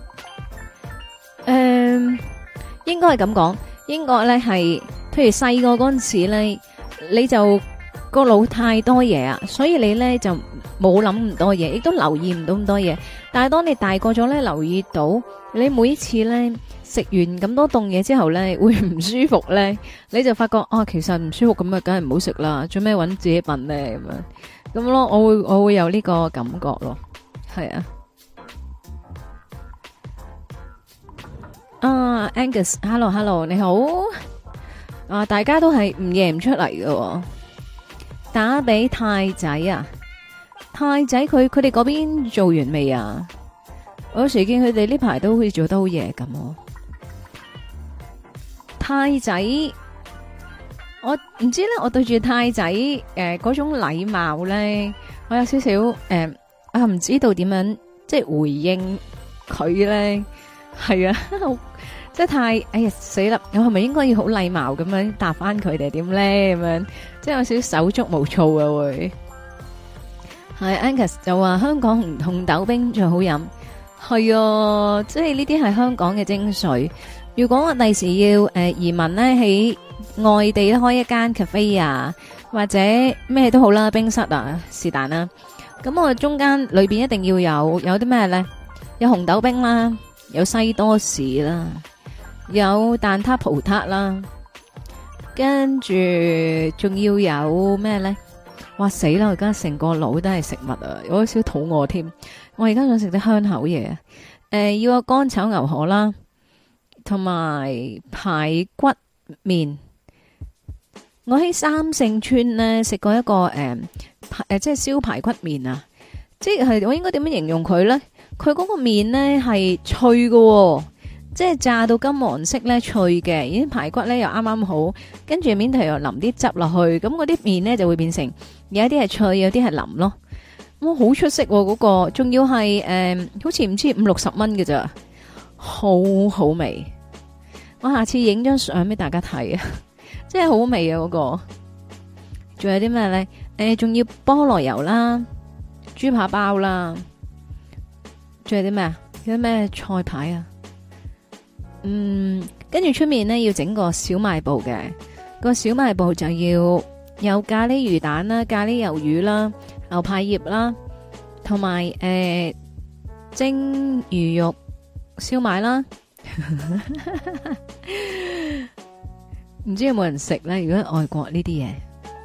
應該係咁講，應該咧係，譬如細個嗰陣時咧，你就個腦太多嘢啊，所以你咧就冇諗咁多嘢，亦都留意唔到咁多嘢。但係當你大個咗咧，留意到你每次咧食完咁多凍嘢之後咧，會唔舒服咧，你就發覺其實唔舒服咁啊，梗係唔好食啦，做咩搵自己笨咧咁咯？我會有呢個感覺咯，係啊。Angus，hello， 你好。大家都係唔認唔出嚟嘅。打俾太仔啊！太仔佢哋嗰邊做完未啊？我有時見佢哋呢排都好似做得好夜咁。太仔，我唔知咧，我對住太仔嗰種禮貌咧，我有少少唔知道點樣即係回應佢咧。係啊，即係太死啦！我係咪應該要好禮貌咁樣答翻佢哋點咧？咁樣即係有少少手足無措嘅會。係 Angus 就話香港紅豆冰最好飲，係啊，即係呢啲係香港嘅精髓。如果我第時要移民咧，喺外地咧開一間 cafe 啊，或者咩都好啦，冰室啊是但啦，咁我中間裏邊一定要有啲咩咧？有紅豆冰啦，有西多士啦，有蛋撻葡撻啦，跟住仲要有咩咧？哇死啦！我而家成個腦都係食物啊，我有少少肚餓添。我而家想食啲香口嘢啊！要個乾炒牛河啦，同埋排骨麵。 我喺三聖村咧食過一個即係燒排骨麵啊，即係我應該點樣形容佢咧？佢嗰個麵咧係脆喎，即係炸到金黃色咧脆嘅，而啲排骨咧又啱啱好，跟住面頭又淋啲汁落去，咁嗰啲麵咧就會變成有一啲係脆，有啲係腍咯。哇，好出色嗰個，仲要係好似唔知50-60蚊嘅咋，好好味。我下次影張相俾大家睇啊，真係好味啊嗰個。仲有啲咩咧？仲要菠蘿油啦，豬扒包啦，仲有啲咩啊？有啲咩菜牌啊？跟住出面咧要整個小賣部嘅，個小賣部就要有咖喱魚蛋啦、咖喱魷魚啦、牛排葉啦，同埋蒸魚肉燒賣啦。唔知有冇人食咧？如果喺外國呢啲嘢，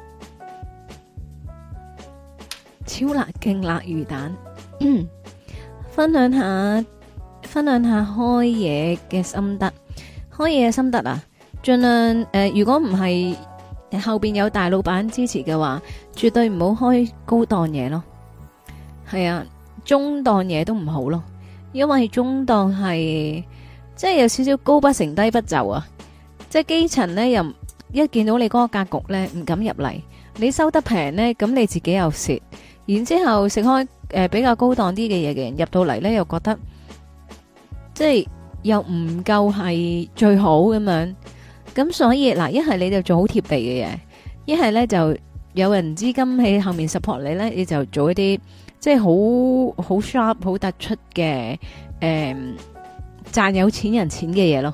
超辣勁辣魚蛋，分享下開嘢嘅心得。開嘢嘅心得啊，盡量如果唔係後邊有大老闆支持嘅話，絕對唔好開高檔嘢咯。係啊，中檔嘢都唔好咯，因為中檔係即係有少少高不成低不就啊。即係基層呢，又一見到你嗰個格局呢，唔敢入嚟。你收得平呢，咁你自己又蝕。然之後食開比較高檔啲嘅嘢嘅人入到嚟呢，又覺得即係又唔夠係最好咁樣。咁所以嗱，一係你就做好貼地嘅嘢，一係呢就有人資金喺後面 support 你呢，你就做一啲即係好 sharp 好突出嘅賺有錢人錢嘅嘢咯。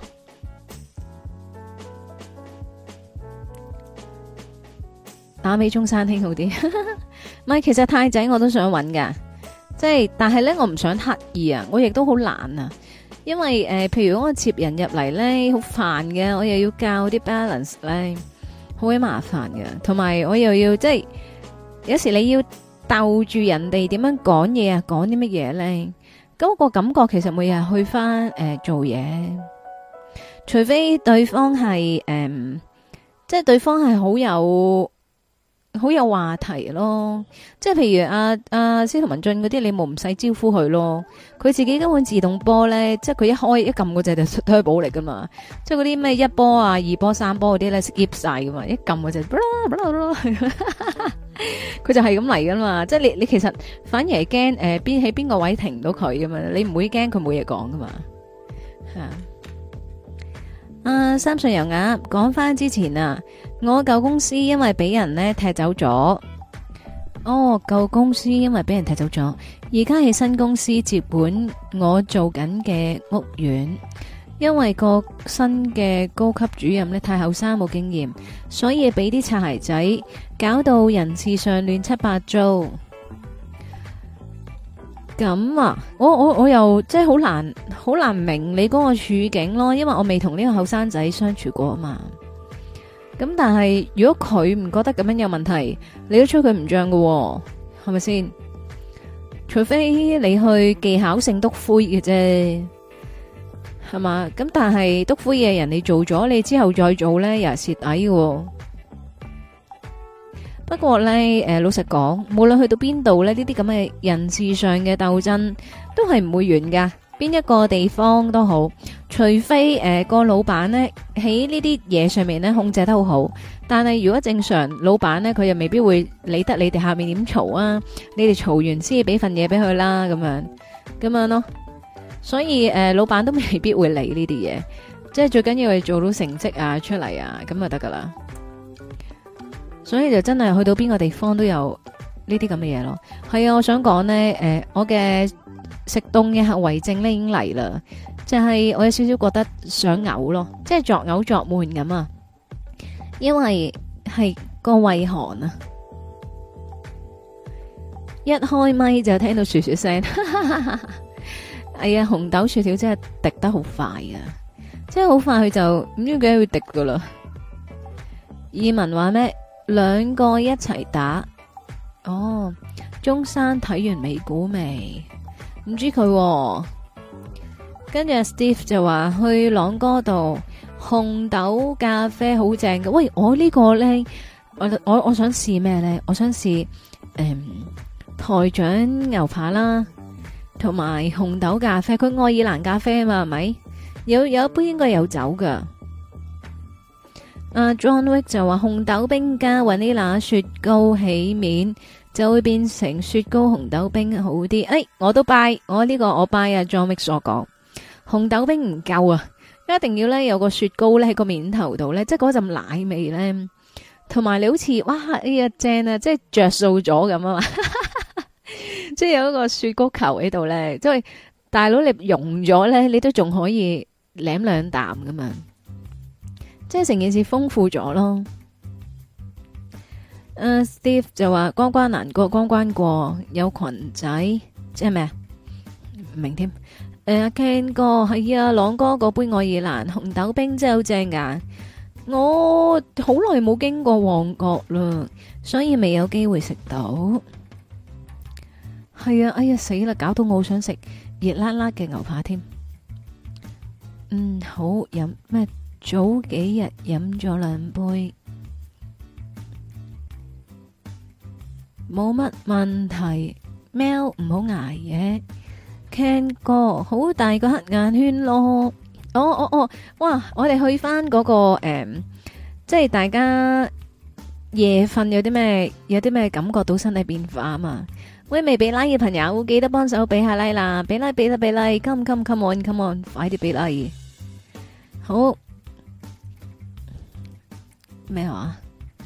打俾中山兄好啲，唔係，其實太仔我都想揾噶，即係但係咧我唔想刻意啊，我亦都好懶啊，因為譬如我接人入嚟咧好煩嘅，我又要教啲 balance 咧，好鬼麻煩嘅，同埋我又要即係有時你要鬥住人哋點樣講嘢啊，講啲乜嘢咧，咁個感覺其實每日去翻做嘢，除非對方係即係對方係好有話題咯，即係譬如阿司徒文進嗰啲，你冇唔使招呼佢咯，佢自己根本自動波咧，即係佢一開一撳嗰隻就推保嚟噶嘛，即係嗰啲咩1波啊、2波、3波嗰啲咧 skip 晒噶嘛，一撳嗰隻，佢就係咁嚟噶嘛，即係你其實反而係驚喺邊個位停唔到佢噶嘛，你唔會驚佢冇嘢講噶嘛，三歲油鴨講翻之前啊，我舊公司因為俾人呢踢走咗，舊公司因為俾人踢走咗，而家喺新公司接管我做緊嘅屋苑，因為個新嘅高級主任呢太後生冇經驗，所以俾啲擦鞋仔搞到人事上亂七八糟。咁啊，我又即係好難明你嗰個處境咯，因為我未同呢個後生仔相處過啊嘛。咁但係如果佢唔覺得咁樣有問題，你都吹佢唔脹㗎，係咪先？除非你去技巧性督灰嘅啫，係嘛？咁但係督灰嘅人你做咗，你之後再做呢，又係蝕底嘅。不過咧，老實講，無論去到邊度咧，呢啲咁嘅人事上嘅鬥爭都係唔會完噶。邊一個地方都好，除非個老闆呢喺呢啲嘢上面呢控制得好好。但係如果正常老闆呢，佢又未必會理得你哋下面點嘈啊。你哋嘈完先俾份嘢俾佢啦，咁樣咯。所以老闆都未必會理呢啲嘢，即係最緊要係做到成績啊出嚟啊，咁就得噶啦。所以就真係去到邊個地方都有呢啲咁嘅嘢咯。係啊，我想講呢，我嘅食凍嘅後遺症呢已經嚟啦，就係我有少少覺得想嘔咯，即係作嘔作悶咁啊。因為係個胃寒啊，一開咪就聽到噓噓聲。哎呀，紅豆雪條真係滴得好快啊，即係好快佢就唔知幾會滴噶啦。意文話咩？兩個一齊打中山睇完美股未？唔知佢。跟住 Steve 就話去朗哥度紅豆咖啡好正嘅。喂，我呢個咧，我想試咩咧？我想試台長牛扒啦，同埋紅豆咖啡。佢愛爾蘭咖啡啊嘛，係咪？有一杯應該有酒噶。John Wick 就話紅豆冰加雲呢拿雪糕起面就會變成雪糕紅豆冰好啲。我都 buy， 我呢個我 buy 啊。John Wick 所講紅豆冰唔夠啊，一定要咧有個雪糕咧喺個面頭度咧，即係嗰陣奶味咧，同埋你好似哇哎呀正啊，即係着數咗咁啊嘛，即係有一個雪糕球喺度咧，即係大佬你溶咗咧，你都仲可以舐兩啖噶嘛。即係成件事豐富咗咯。Steve 就話關關難過關關過，有裙仔即係咩啊？唔明添。Ken 哥係啊，朗哥嗰杯愛爾蘭紅豆冰真係好正噶。我好耐冇經過旺角啦，所以未有機會食到。係啊，哎呀死啦，搞到我好想食熱辣辣嘅牛扒添。好飲咩？早幾日飲咗2杯，冇乜問題。喵唔好捱夜。Ken 哥好大個黑眼圈咯。哇！我哋去翻嗰個即係大家夜瞓有啲咩感覺到身體變化啊嘛。喂，未俾 like 嘅朋友記得幫手俾下 like 啦，俾 like，come on，快啲俾 like。好。咩話？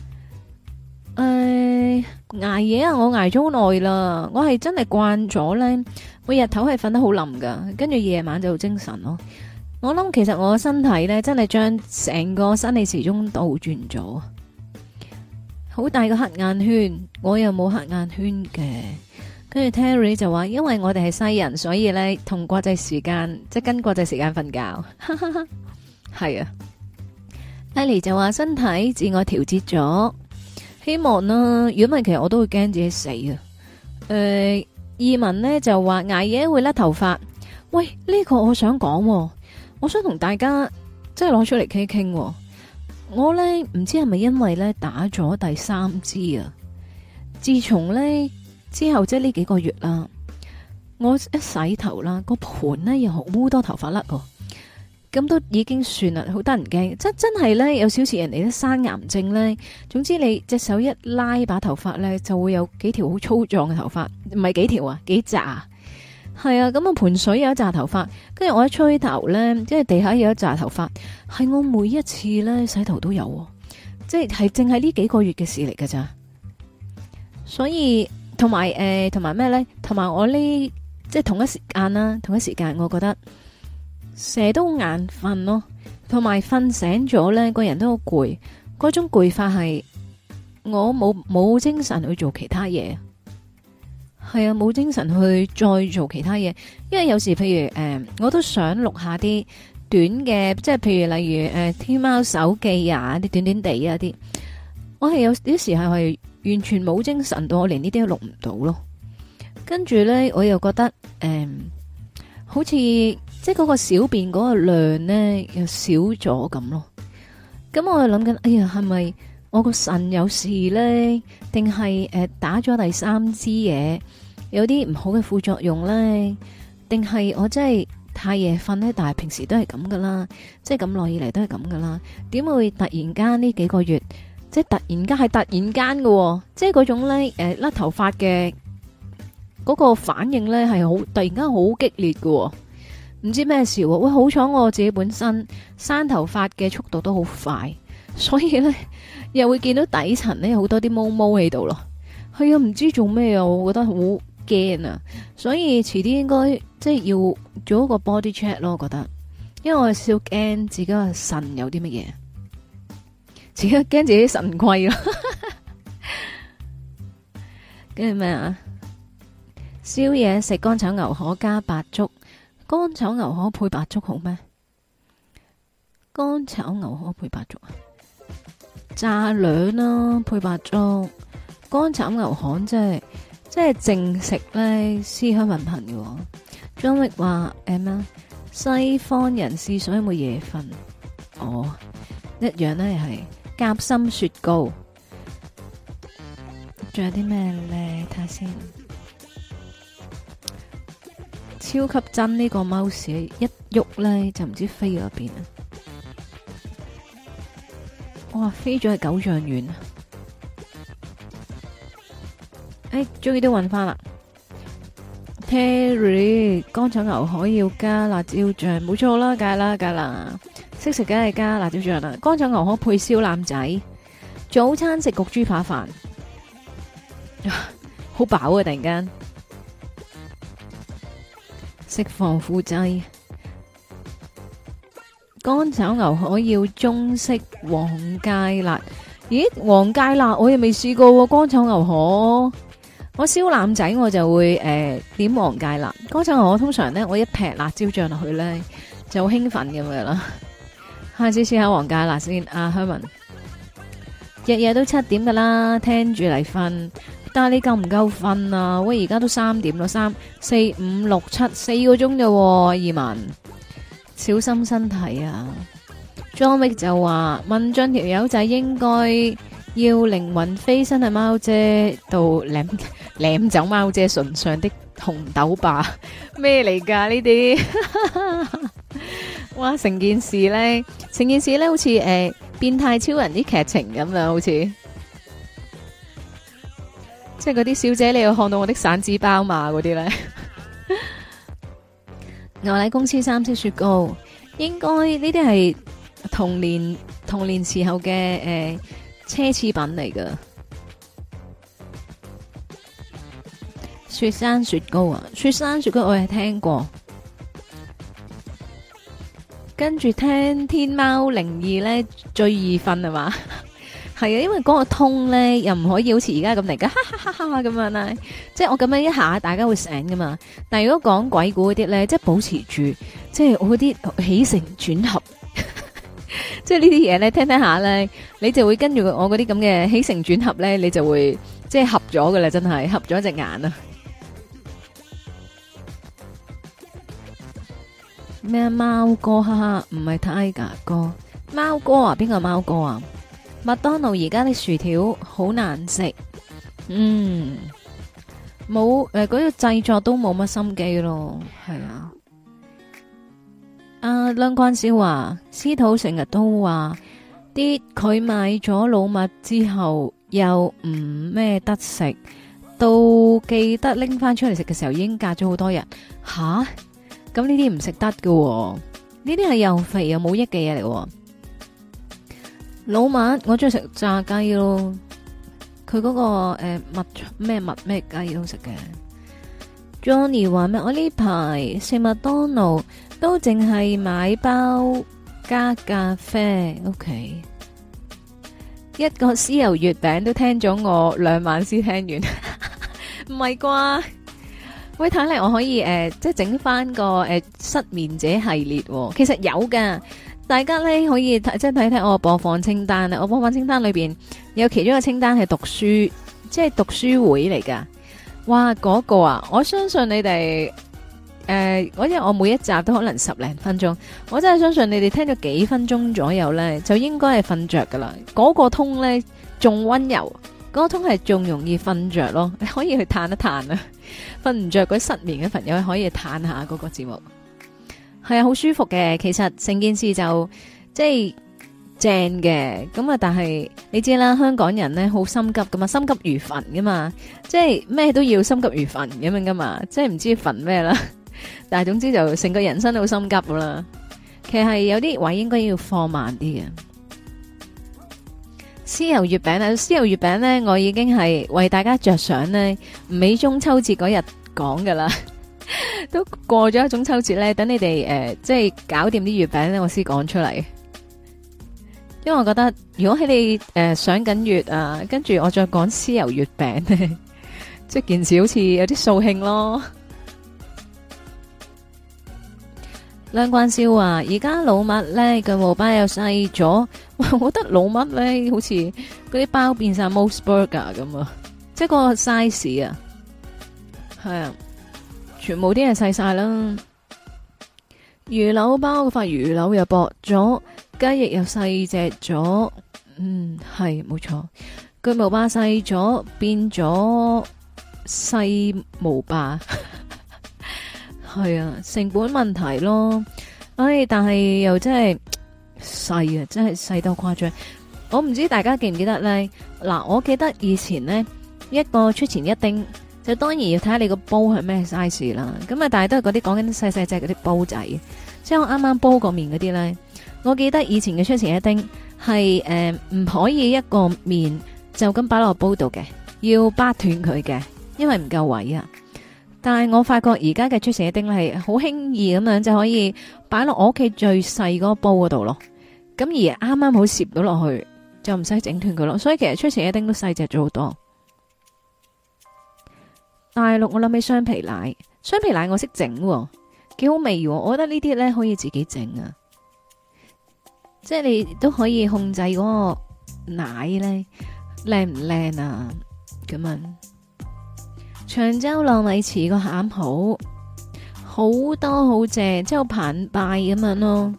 捱夜啊！我捱咗好耐啦，我係真係慣咗咧。我日頭係瞓得好冧噶，跟住夜晚就精神咯。我諗其實我身體咧真係將成個生理時鐘倒轉咗，好大個黑眼圈。我又冇黑眼圈嘅。跟住 Terry 就話，因為我哋係西人，所以咧同國際時間即係跟國際時間瞓覺。係啊。Ellie 就話身體自我調節咗，希望啦。如果唔係，其實我都會驚自己死啊。義文呢就話捱夜會甩頭髮。喂，呢個我想講，我想同大家即係攞出嚟傾傾。我呢唔知係咪因為呢打咗第3支啊？自從呢之後即係呢幾個月啦，我一洗頭啦，個盤呢又好多頭髮甩喎。咁都已經算啦，好得人驚，真係咧有少似人哋啲生癌症咧。總之你隻手一拉把頭髮咧，就會有幾條好粗壯嘅頭髮，唔係幾條啊，幾紮。係啊，咁我盆水有一紮頭髮，跟住我一吹頭咧，即係地下有一紮頭髮，係我每一次咧洗頭都有，即係淨係呢幾個月嘅事嚟㗎咋。所以同埋咩咧？同埋我呢即係同一時間啦，同一時間我覺得。成日都眼瞓咯，同埋瞓醒咗呢個人都好攰。嗰種攰法係我冇精神去做其他嘢，係啊，冇精神去再做其他嘢。因為有時譬如我都想錄下啲短嘅，即係譬如例如天貓手記啊，啲短短地啊啲，我係有啲時候係完全冇精神到，我連呢啲都錄唔到咯。跟住呢，我又覺得好似。即係嗰個小便嗰個量呢，又少咗咁咯。咁我就諗緊，哎呀，係咪我個腎有事呢？定係打咗第3支嘢有啲唔好嘅副作用呢？定係我真係太夜瞓呢？但係平時都係咁噶啦，即係咁耐以嚟都係咁噶啦。點會突然間呢幾個月，即係突然間係突然間喎，即係嗰種呢甩頭髮嘅嗰個反應呢，係好突然間好激烈喎。唔知咩事喎？喂，好彩我自己本身生頭髮嘅速度都好快，所以咧又會見到底層咧好多啲毛毛喺度咯。係啊，唔知做咩啊，我覺得好驚啊！所以遲啲應該即係要做一個 body check 咯，我覺得，因為我係少驚自己個腎有啲乜嘢，自己驚自己腎虧咯。跟住咩啊？宵夜食乾炒牛河加白粥。乾炒牛河配白粥好咩？乾炒牛河配白粥啊，炸兩啦配白粥。乾炒牛河即係淨食咧，思鄉雲頻嘅。張力話咩？西方人士所以冇夜瞓。 哦，一樣咧係夾心雪糕。仲有啲咩咧？睇下先。超級真呢個 mouse 一喐咧就唔知飛咗邊啊！哇，飛咗去九丈遠啊！終於都搵翻啦。Terry， 乾炒牛河要加辣椒醬，冇錯啦，梗係啦，識食梗係加辣椒醬啦。乾炒牛河配燒腩仔，早餐食焗豬扒飯，好飽啊！突然間食防腐劑。乾炒牛河要中式黃芥辣，咦？黃芥辣我又未試過喎。乾炒牛河，我燒腩仔我就會點黃芥辣。乾炒牛河通常咧，我一劈辣椒醬落去咧就好興奮咁樣啦。下次試下黃芥辣先。阿香文日日都7點噶啦，聽住嚟瞓。但係你夠唔夠瞓啊？喂，而家都3點咯，3、4、5、6、7 4個鐘啫。移民小心身體啊。John Wick 就話文進條友仔應該要靈魂飛身去貓姐度舐走貓姐唇上的紅豆霸，咩嚟噶呢啲？哇，成件事咧好似變態超人啲劇情咁啦，好似即係嗰啲小姐你要看到我的散紙包嘛嗰啲咧。牛奶公司3色雪糕，應該呢啲係童年時候嘅奢侈品嚟噶。雪山雪糕啊，雪山雪糕我係聽過，跟住聽天貓02咧最易瞓係嘛？係啊，因為嗰個通咧又唔可以好似而家咁嚟噶，哈哈哈哈咁樣啦。即係我咁樣一下，大家會醒噶嘛。但係如果講鬼故嗰啲咧，即係保持住，即係我嗰啲起承轉合，即係呢啲嘢咧，聽聽下咧，你就會跟住我嗰啲咁嘅起承轉合咧，你就會即係合咗噶啦，真係合咗隻眼啊！咩貓哥？哈哈，唔係 Tiger 哥，貓哥啊？邊個貓哥啊？麥當勞而家啲薯條好難食，冇嗰個製作都冇乜心機咯，係啊。阿梁關少話，司徒成日都話啲佢買咗老麥之後又唔咩得食，到記得拎翻出嚟食嘅時候已經隔咗好多日。吓，咁呢啲唔食得㗎，呢啲係又肥又冇益嘅嘢嚟。老麥我中意食炸雞咯，佢嗰個麥咩雞都食嘅。Johnny 話咩？我呢排食麥當勞都淨係買包加咖啡。OK， 一個豉油月餅都聽咗我2晚先聽完，唔係啩？喂，睇嚟我可以即係整翻個失眠者系列，其實有噶。大家咧可以即係睇睇我播放清單啊！我播放清單裏邊有其中一個清單係讀書，即係讀書會嚟噶。哇，嗰個啊！我相信你哋因為我每一集都可能10零分鐘，我真係相信你哋聽咗幾分鐘左右咧，就應該係瞓着噶啦。嗰個通咧仲溫柔，嗰個通係仲容易瞓着咯。你可以去嘆一嘆啊！瞓唔着嗰啲失眠嘅朋友可以嘆下嗰個節目。係啊，好舒服嘅。其實成件事就即係正嘅，咁啊，但係你知啦，香港人咧好心急噶嘛，心急如焚噶嘛，即係咩都要心急如焚咁樣噶嘛，即係唔知焚咩啦。但係總之就成個人生都好心急噶啦。其實係有啲位應該要放慢啲嘅。豉油月餅啊，豉油月餅咧，我已經係為大家着想咧，唔喺中秋節嗰日講噶啦。都過咗一中秋節咧，等你哋即係搞掂啲月餅咧，我先講出嚟。因為我覺得如果喺你上緊月啊，跟住我再講豉油月餅咧，即係件事好似有啲掃興咯。梁冠少話：而家老麥咧個毛包又細咗，我覺得老麥咧好似嗰啲包變晒 Mos Burger 咁啊，即係個 size 啊，係啊。全部啲嘢細晒啦，魚柳包嗰塊魚柳又薄咗， 雞翼又細隻咗，係冇錯，巨無霸細咗變咗細無霸，係啊，成本問題咯。但係又真係細啊，真係細到誇張。我唔知大家記唔記得咧？嗱，我記得以前呢，一個出前一丁，就當然要睇下你個煲係咩 size 啦。咁啊，但係都係嗰啲講緊細細隻嗰啲煲仔，即係我啱啱煲過麵嗰啲咧。我記得以前嘅出前一丁係唔可以一個麵就咁擺落煲度嘅，要掰斷佢嘅，因為唔夠位啊。但係我發覺而家嘅出前一丁係好輕易咁樣就可以擺落我屋企最細嗰個煲嗰度咯。咁而啱啱好攝到落去，就唔使整斷佢咯。所以其實出前一丁都細隻咗好多。大陸我諗起雙皮奶，雙皮奶我識整，幾好味。我覺得呢啲咧可以自己整啊，即係你都可以控制嗰個奶咧靚唔靚啊咁樣。長洲糯米糍個餡好多好正，即係好澎湃咁樣咯。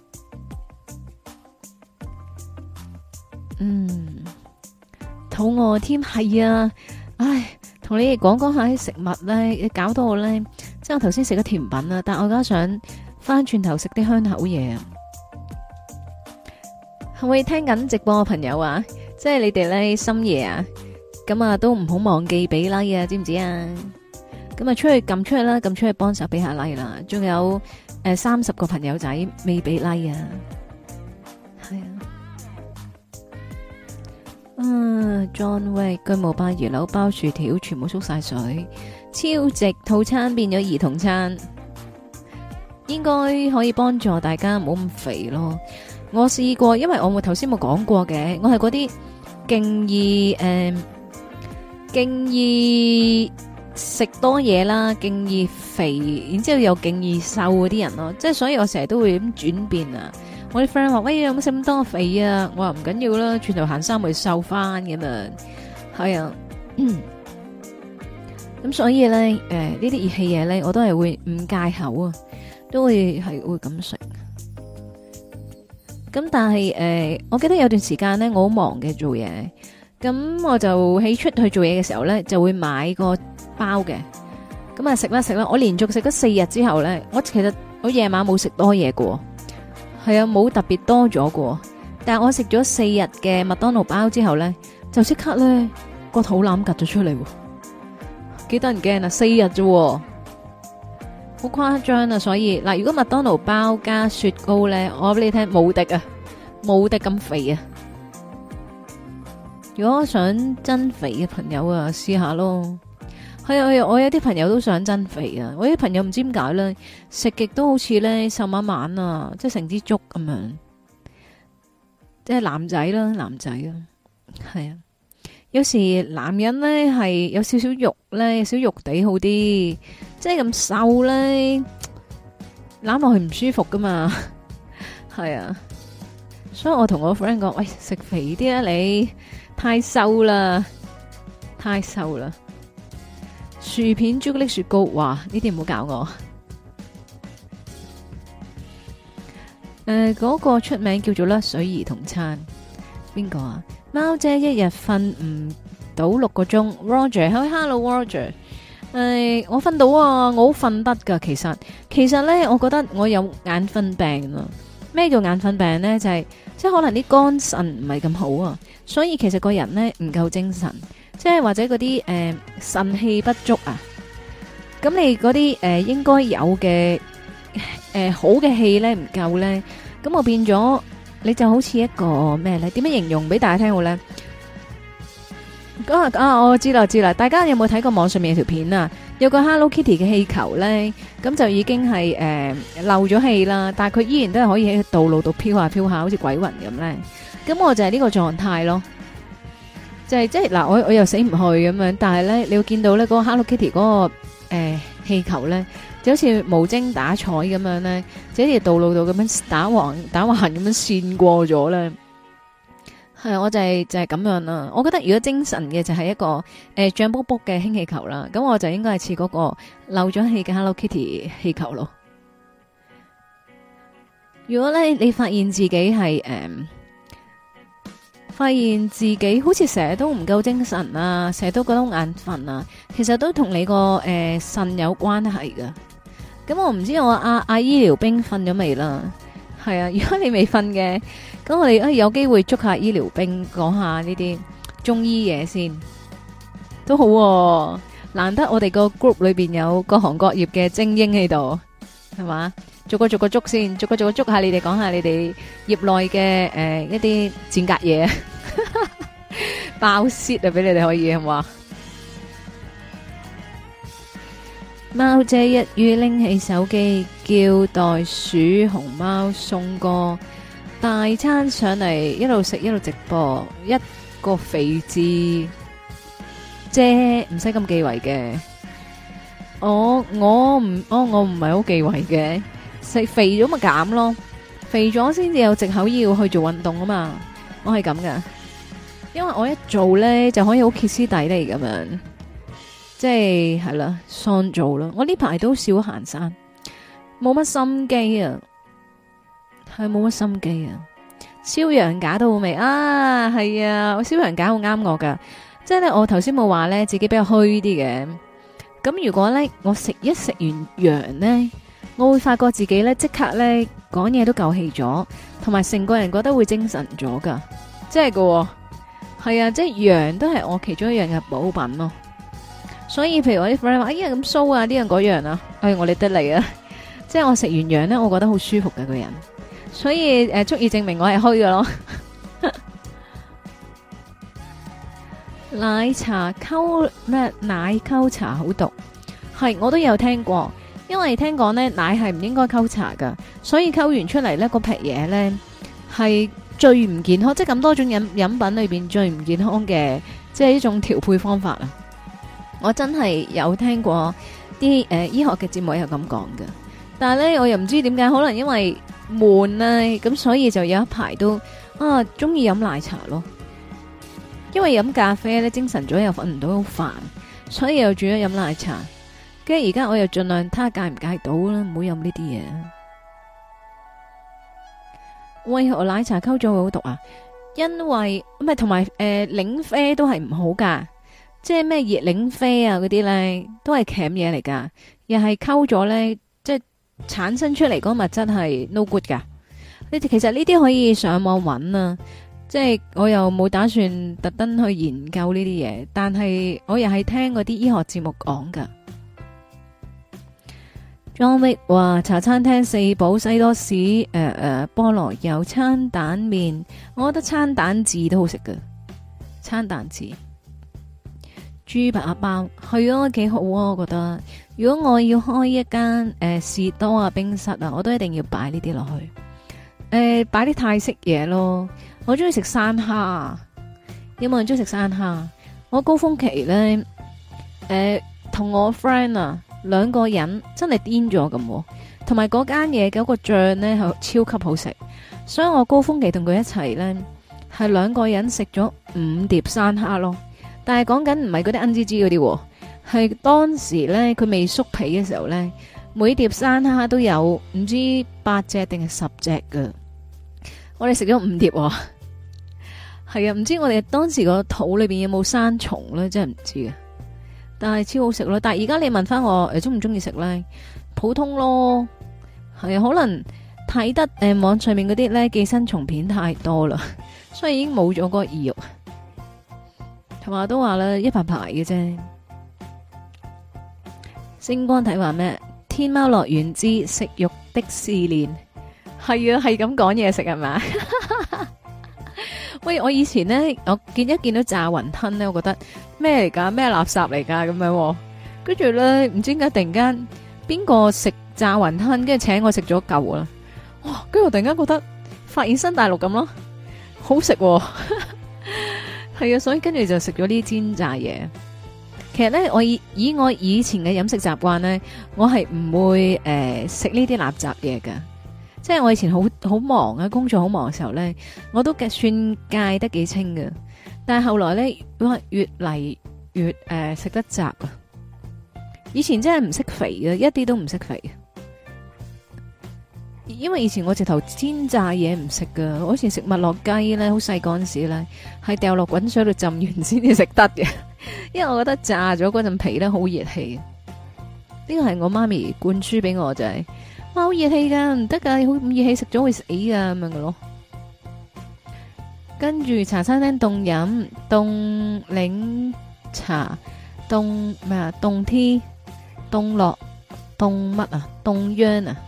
肚餓添，係啊，唉，同你哋講下啲食物咧，搞到我咧，即係我頭先食咗甜品啦，但我而家想翻轉頭食啲香口嘢啊！係咪聽緊直播嘅朋友啊？即係你哋咧深夜啊，咁啊都唔好忘記俾 like 啊，知唔知啊？咁啊出去撳出去啦，撳出去幫手俾下 like 啦。仲有30個朋友仔未俾 like 啊，係啊。John Way 巨無霸魚柳包薯條全部縮晒水，超值套餐變咗兒童餐，應該可以幫助大家唔好咁肥咯。我試過，因為我頭先冇講過嘅，我係嗰啲勁易食多嘢啦，勁易肥，然之後又勁易瘦嗰啲人咯，即係所以我成日都會咁轉變啊。我啲 friend 話：喂，有冇食咁多肥啊？我話唔緊要啦，轉頭行山會瘦翻咁啊。係啊，咁所以咧，呢啲熱氣嘢咧，我都係會唔戒口啊，都會咁食。咁但係我記得有段時間咧，我好忙嘅做嘢，咁我就喺出去做嘢嘅時候咧，就會買個包嘅，咁啊食啦，我連續食咗4日之後咧，其實我夜晚冇食多嘢嘅，係啊，冇特別多咗嘅，但係我食咗4日嘅麥當勞包之後咧，就即刻咧個肚腩趌咗出嚟，幾得人驚啊！4日啫。好誇張啊！所以嗱，如果麥當勞包加雪糕咧，我話俾你聽，無敵啊，無敵咁肥啊！如果想增肥嘅朋友啊，試下咯。係啊，我有啲朋友都想增肥啊。我啲朋友唔知點解咧，食極都好似咧瘦晚晚啊，即係成支竹咁樣。即係男仔啦，係啊。有時男人咧係有少少肉咧，有少肉地好啲，即係咁瘦咧攬落去唔舒服噶嘛，係啊，所以我同我 friend 講：喂，食肥啲啊，你太瘦啦，薯片、朱古力雪糕，哇，呢啲唔好搞我。嗰個出名叫做甩水兒童餐，邊個啊？貓姐一日瞓唔到6個鐘 ，Roger，Hello Roger，我瞓到啊，我好瞓得噶。其實咧，我覺得我有眼瞓病啊。咩叫眼瞓病咧？就係即係可能啲肝腎唔係咁好啊，所以其實個人咧唔夠精神，即係或者嗰啲腎氣不足啊。咁你嗰啲應該有嘅好嘅氣咧唔夠咧，咁我變咗。你就好似一個咩咧？點樣形容俾大家聽好咧？我知啦，大家有冇睇過網上面有條片啊？有個 Hello Kitty 嘅氣球咧，咁就已經係漏咗氣啦，但係佢依然都係可以喺道路度飄下飄下，好似鬼魂咁咧。咁我就係呢個狀態咯，就係即係嗱，我又死唔去咁樣，但係咧你會見到咧嗰個 Hello Kitty 嗰個氣球咧。就好似無精打采咁樣咧，就喺條道路度咁樣打橫咁樣線過咗咧。係我就係咁樣啦。我覺得如果精神嘅就係一個脹卜卜嘅氫氣球啦，咁我就應該係似嗰個漏咗氣嘅 Hello Kitty 氣球咯。 如果咧你發現自己係發現自己好似成日都唔夠精神啊，成日都覺得好眼瞓啊，其實都同你個腎有關係噶。咁我唔知我阿醫療兵瞓咗未啦？係啊，如果你未瞓嘅，咁我哋有機會捉下醫療兵講下呢啲中醫嘢先，都好喎。難得我哋個 group 裏邊有各行各業嘅精英喺度，係嘛？逐個捉先，逐個捉下你哋，講下你哋業內嘅一啲賤格嘢，爆泄啊！俾你哋可以係嘛？貓姐一於拎起手機，叫袋鼠熊貓送個大餐上嚟，一路食一路直播，一個肥字啫，唔使咁忌諱嘅。我唔係好忌諱嘅。食肥咗咪減咯，肥咗先至有藉口要去做運動啊嘛，我係咁噶，因為我一做咧就可以好歇斯底里咁樣，即係啦，喪做咯。我呢排都少行山，冇乜心機啊，係冇乜心機啊。燒羊架都好味啊，係啊，我燒羊架好啱我噶，即係咧我頭先冇話咧自己比較虛啲嘅，咁如果咧我食完羊咧。我會發覺自己咧即刻咧講嘢都夠氣咗，同埋成個人覺得會精神咗噶，即係噶，係啊，即係羊都係我其中一樣嘅補品咯。所以譬如我啲 friend 話哎呀咁騷啊，呢樣嗰樣啊，我哋得嚟啊，即係我食完羊咧，我覺得好舒服嘅個人，所以足以證明我係虛嘅咯。奶茶溝咩？奶溝茶好毒，係我都有聽過。因為聽講咧奶係唔應該溝茶噶，所以溝完出嚟咧嗰劈嘢咧係最唔健康，即係咁多種飲品裏邊最唔健康嘅，即係呢種調配方法啊！我真係有聽過啲醫學嘅節目有咁講嘅，但係咧我又唔知點解，可能因為悶啊，咁所以就有一排都中意飲奶茶咯。因為飲咖啡咧精神咗又瞓唔到好煩，所以又轉咗飲奶茶。跟住而家我又盡量睇下戒唔戒到啦，唔好飲呢啲嘢。為何奶茶溝咗會好毒啊？因為唔係同埋檸啡都係唔好噶，即係咩熱檸啡啊嗰啲咧都係鉗嘢嚟噶，又係溝咗咧，即係產生出嚟嗰個物質係 no good 噶。你哋其實呢啲可以上網揾啊，即係我又冇打算特登去研究呢啲嘢，但係我又係聽嗰啲醫學節目講噶。John Wick 話茶餐廳四寶西多士菠蘿油餐蛋麵，我覺得餐蛋治都好食㗎。餐蛋治豬扒包係啊，幾好啊，我覺得。如果我要開一間士多啊冰室啊，我都一定要擺呢啲落去。擺啲泰式嘢咯。我中意食山蝦，有冇人中意食山蝦？我高峰期咧同我 friend 啊。兩個人真係癲咗咁，同埋嗰間嘢嗰個醬呢係超級好食，所以我高峰期同佢一齊呢，係兩個人食咗5碟山蝦咯。但係講緊唔係嗰啲恩滋滋嗰啲，係當時呢，佢未縮皮嘅時候呢，每碟山蝦都有唔知8隻定係10隻噶。我哋食咗5碟，係啊，唔知我哋當時個肚裏邊有冇生蟲呢？真係唔知啊。但係超好食咯，但係而家你問翻我中唔中意食咧？普通咯，係啊，可能睇得網上面嗰啲咧寄生蟲片太多啦，所以已經冇咗嗰個意欲。同埋都話啦，一排排嘅啫。星光睇話咩？天貓樂園之食欲的試煉，係啊，係咁講嘢食係咪？喂，我以前咧，我見到炸雲吞咧，我覺得咩嚟噶？咩垃圾嚟噶？咁樣，跟住咧，唔知點解突然間邊個食炸雲吞，跟住請我食咗嚿啦，哇！跟住我突然間覺得發現新大陸咁咯，好食，係啊，所以跟住就食咗啲煎炸嘢。其實咧，我以我以前嘅飲食習慣咧，我係唔會食呢啲垃圾嘢噶。即係我以前好忙啊，工作好忙嘅時候咧，我都算戒得幾清嘅。但係後來咧，哇，越嚟越食得雜啊！以前真係唔識肥嘅，一啲都唔識肥。 因為以前我直頭煎炸嘢唔食噶，我以前食麥樂雞咧，好細嗰陣時咧，係掉落滾水度浸完先至食得嘅，因為我覺得炸咗嗰陣皮咧好熱氣。呢個係我媽咪灌輸俾我就係，哇好熱氣噶，唔得噶，好咁熱氣食咗會死噶咁樣嘅咯。跟住茶餐廳凍飲凍檸茶凍咩啊凍 T 凍樂凍乜啊凍秧啊，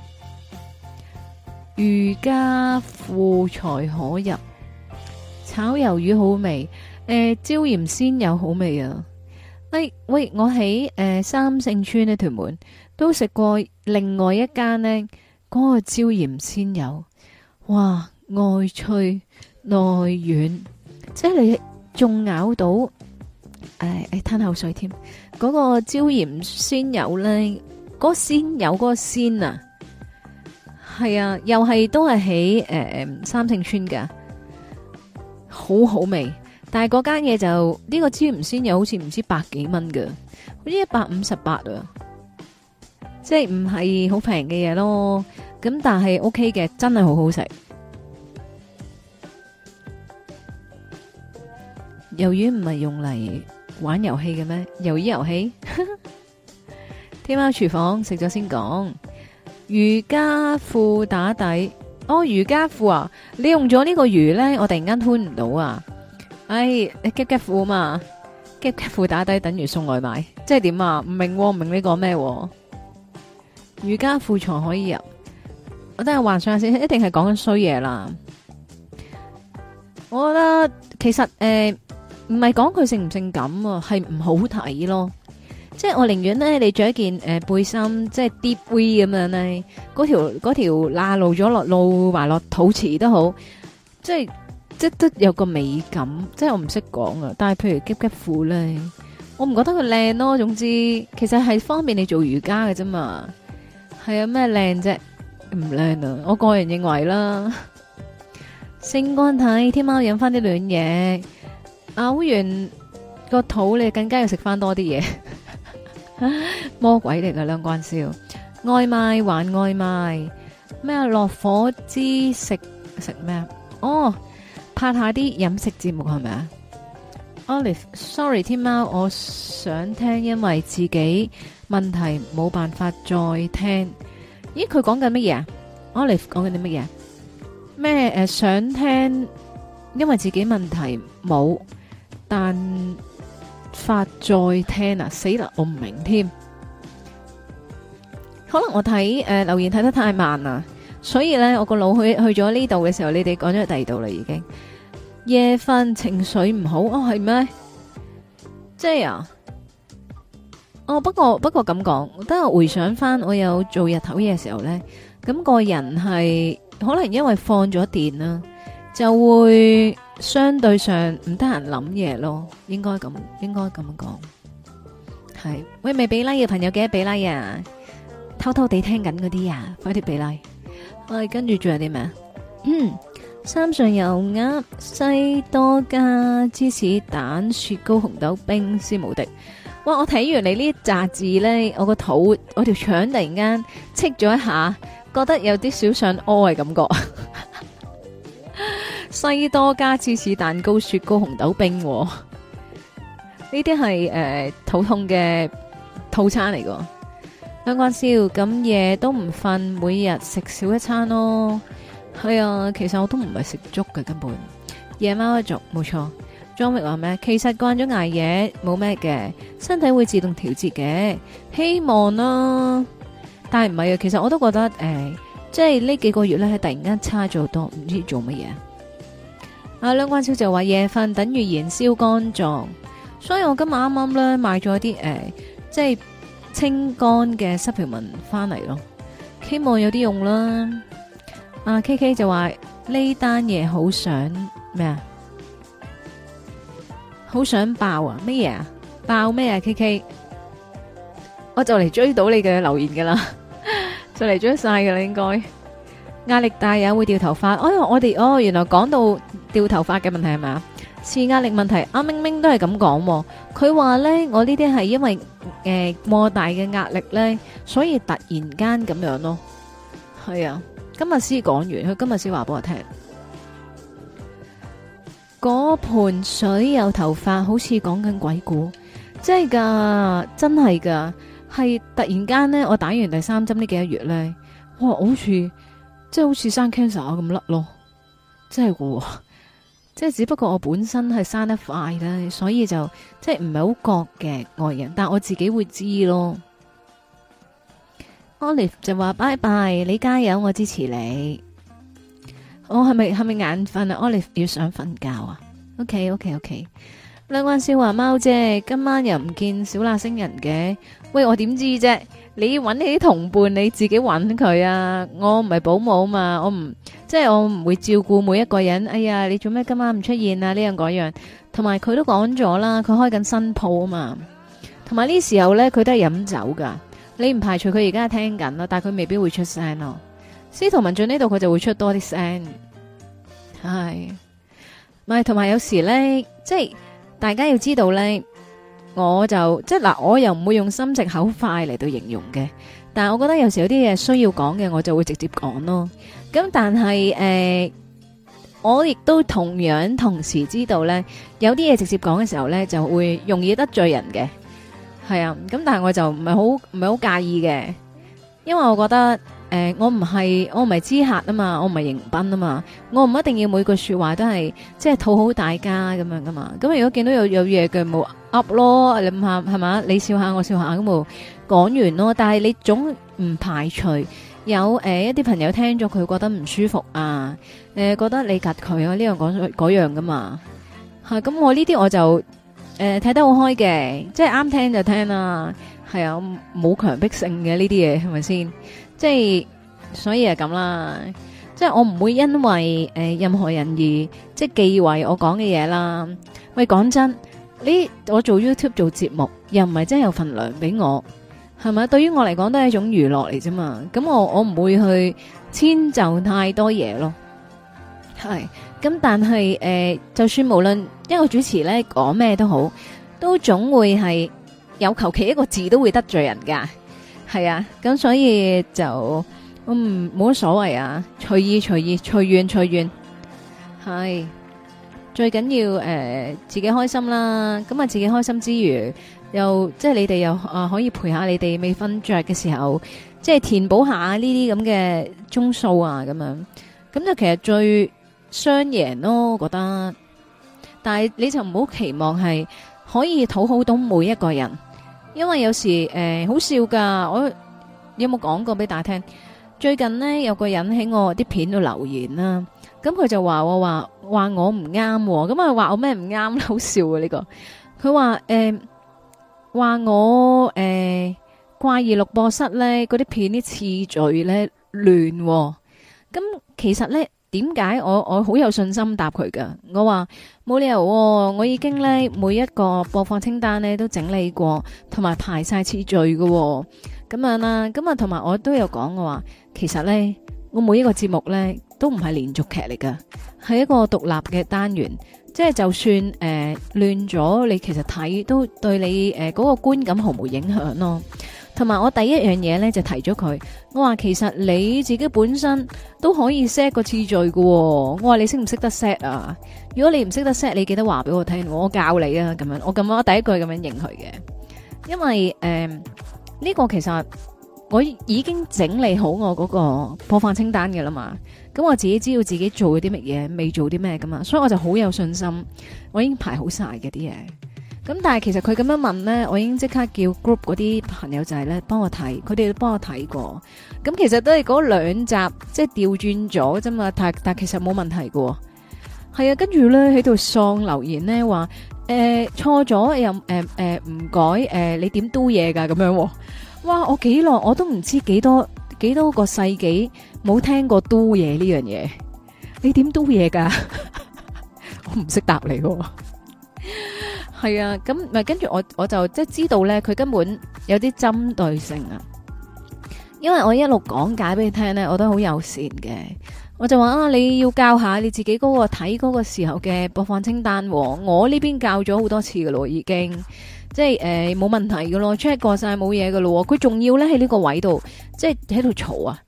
瑜伽褲才可入，炒魷魚好味，椒鹽鮮魷好味啊！喂，我喺三聖村呢屯門都食過另外一間呢嗰個椒鹽鮮魷，哇外脆內軟，即係你仲咬到吞口水添。嗰個椒鹽鮮魷呢，嗰個鮮魷嗰個鮮啊，係啊，又係都係喺三聖村噶，好好味。但係嗰間嘢就呢個椒鹽鮮魷好似唔知百幾蚊噶，好似158啊，即係唔係好平嘅嘢咯。咁但係 OK 嘅，真係好好食。魷魚唔係用嚟玩遊戲嘅咩？魷魚遊戲？天貓廚房食咗先講。瑜伽褲打底，哦，瑜伽褲啊！你用咗呢個魚咧，我突然間吞唔到啊！你夾夾褲嘛？夾夾褲打底等於送外賣，即係點啊？唔明唔明你講咩？瑜伽褲才可以入，我等下幻想下先，一定係講緊衰嘢啦。我覺得其實唔係講佢性唔性感啊，係唔好睇咯。即係我寧願咧，你着一件背心，即係 deep V 咁樣咧，嗰條罅露埋落肚臍都好，即都有個美感。即係我唔識講啊，但係譬如夾夾褲咧，我唔覺得佢靚咯。總之，其實係方便你做瑜伽嘅啫嘛。係啊，咩靚啫？唔靚啊！我個人認為啦。性乾體，天貓飲翻啲暖嘢，嘔完個肚，你更加要食翻多啲嘢。魔鬼嚟噶，兩關燒外賣還外賣咩？落火之食咩？哦，拍下啲飲食節目係咪啊 ？Olive，sorry， 天貓，我想聽，因為自己問題冇辦法再聽。咦，佢講緊乜嘢啊 ？Olive 講緊啲乜嘢？咩想聽，因為自己問題冇，但法再聽啊！死啦，我唔明添。可能我睇留言睇得太慢啦，所以咧我個腦去咗呢度嘅時候，你哋講咗第二度啦已經。夜瞓情緒唔好哦，係咩？即係啊？哦，不過咁講，等我回想翻，我有做日頭嘢嘅時候咧，咁個人係可能因為放咗電啦，就會相對上唔得閒諗嘢咯，應該咁講。係，喂，未俾 like 嘅朋友記得俾 like 啊！偷偷地聽緊嗰啲啊，快啲俾 like。我哋跟住仲有啲咩？三上油鴨、西多加芝士蛋、雪糕、紅豆冰、絲無敵。哇！我睇完你呢一紮字咧，我個肚，我條腸突然間戚咗一下，覺得有啲少想屙嘅感覺。西多加芝士蛋糕、雪糕、紅豆冰，呢啲係肚痛嘅套餐嚟噶。兩關燒咁夜都唔瞓，每日食少一餐咯。係啊，其實我都唔係食粥嘅，根本夜貓一族冇錯。莊域話咩？其實慣咗捱夜冇咩嘅，身體會自動調節嘅，希望啦。但係唔係啊，其實我都覺得即係呢幾個月咧係突然間差咗好多，唔知做乜嘢。阿梁關超就話夜瞓等於燃燒肝臟，所以我今日啱啱咧買咗啲即係清肝嘅supplement翻嚟咯，希望有啲用啦。阿 K K 就話呢單嘢好想咩啊？好想爆啊！咩嘢啊？爆咩啊 ？K K， 我就嚟追到你嘅留言噶啦，就嚟追晒噶啦，應該。壓力大也會掉頭髮。我哋原來講到掉頭髮嘅問題係咪啊？是壓力問題。阿明明都係咁講，佢話咧我呢啲係因為莫大嘅壓力咧，所以突然間咁樣咯。係啊， 今日先講完，佢今日先話俾我聽。嗰盆水有頭髮，好似講緊鬼故，真係噶，真係噶，係突然間咧，我打完第3針呢幾個月咧，哇，好似即係好似生 cancer 咁甩咯，真係噶，即係只不過我本身係生得快啦，所以就即係唔係好覺嘅外人，但我自己會知咯。Olive 就話拜拜，你加油，我支持你。我係咪眼瞓啊 ？Olive 要想瞓覺啊？OK。兩關笑話貓啫，今晚又唔見小辣星人嘅。喂，我點知啫？你揾你啲同伴，你自己揾佢啊！我唔係保姆嘛，我唔會照顧每一個人。哎呀，你做咩今晚唔出現啊？呢樣嗰樣，同埋佢都講咗啦，佢開緊新鋪啊嘛。同埋呢時候呢，佢都係飲酒噶。你唔排除佢而家係聽緊咯，但係佢未必會出聲咯。司徒文進呢度佢就會出多啲聲，係咪？同埋有時呢，即係大家要知道呢，我就即係嗱，我又唔會用心直口快嚟到形容嘅，但係我覺得有時有啲嘢需要講嘅，我就會直接講咯。咁但係我亦都同時知道呢，有啲嘢直接講嘅時候呢，就會容易得罪人嘅，係啊。咁但係我就唔係好介意嘅，因為我覺得。我唔係知客啊嘛，我唔係迎賓啊嘛，我唔一定要每句說話都係即係討好大家咁樣噶嘛。咁如果見到有嘢嘅冇 up 咯，你諗下係嘛？你笑下我笑下咁冇講完咯。但係你總唔排除有一啲朋友聽咗佢覺得唔舒服啊，覺得你夾佢啊呢樣嗰樣噶嘛。咁我呢啲我就睇得好開嘅，即係啱聽就聽啦。係啊，冇強迫性嘅呢啲嘢係咪先？即係所以係咁啦，即係我唔會因為任何人而即係忌諱我講嘅嘢啦。喂，講真，我做 YouTube 做節目，又唔係真係有份糧俾我，係咪？對於我嚟講都係一種娛樂嚟啫嘛。咁我唔會去遷就太多嘢咯。係咁，但係就算無論一個主持咧講咩都好，都總會係有求其一個字都會得罪人噶。係啊，咁所以就冇乜所謂啊，隨意隨緣，係最緊要自己開心啦。咁啊，自己開心之餘，又即係你哋又可以陪下你哋未瞓着嘅時候，即係填補下呢啲咁嘅鐘數啊，咁樣咁就其實最雙贏咯，我覺得。但係你就唔好期望係可以討好到每一個人。因為有時好笑噶，我有冇講過俾大家聽？最近呢，有個人喺我啲片度留言啦，咁佢就話我唔啱，咁啊話我咩唔啱？好笑啊呢個！佢話我怪異錄播室咧嗰啲片啲次序咧亂，咁其實咧。點解我好有信心答佢噶？我話冇理由，我已經咧每一個播放清單咧都整理過，同埋排晒次序噶，咁樣啦。咁啊，同埋我都有講我話，其實咧我每一個節目咧都唔係連續劇嚟噶，係一個獨立嘅單元，即係就算亂咗，你其實睇都對你嗰個觀感毫無影響咯。同埋我第一樣嘢咧就提咗佢，我話其實你自己本身都可以 set 個次序嘅，我話你識唔識得 set 啊？如果你唔識得 set，你記得話俾我聽，我教你啊，咁樣我第一句咁樣應佢嘅，因為呢個其實我已經整理好我嗰個播放清單嘅啦嘛，咁我自己知道自己做咗啲乜嘢，未做啲咩噶嘛，所以我就好有信心，我已經排好晒嘅啲嘢。咁但係其實佢咁樣問呢，我已經即刻叫 group 嗰啲朋友仔呢幫我睇，佢哋都幫我睇過。咁其實都係嗰2集即係調轉咗啫嘛，但其實冇問題喎。係啊，跟住呢喺度喪留言呢話錯咗又唔改你點 do 嘢噶咁樣喎。哇！我幾耐我都唔知幾多個世紀冇聽過 do 嘢呢樣嘢。你點 do 嘢噶？我唔識答你喎。係啊，咁咪跟住我就即係知道咧，佢根本有啲針對性啊。因為我一路講解俾你聽咧，我都好友善嘅。我就話啊，你要教下你自己嗰個睇嗰個時候嘅播放清單。我呢邊教咗好多次噶咯，已經即係冇問題噶咯，check 過晒冇嘢噶咯。佢仲要咧喺呢個位度，即係喺度嘈啊。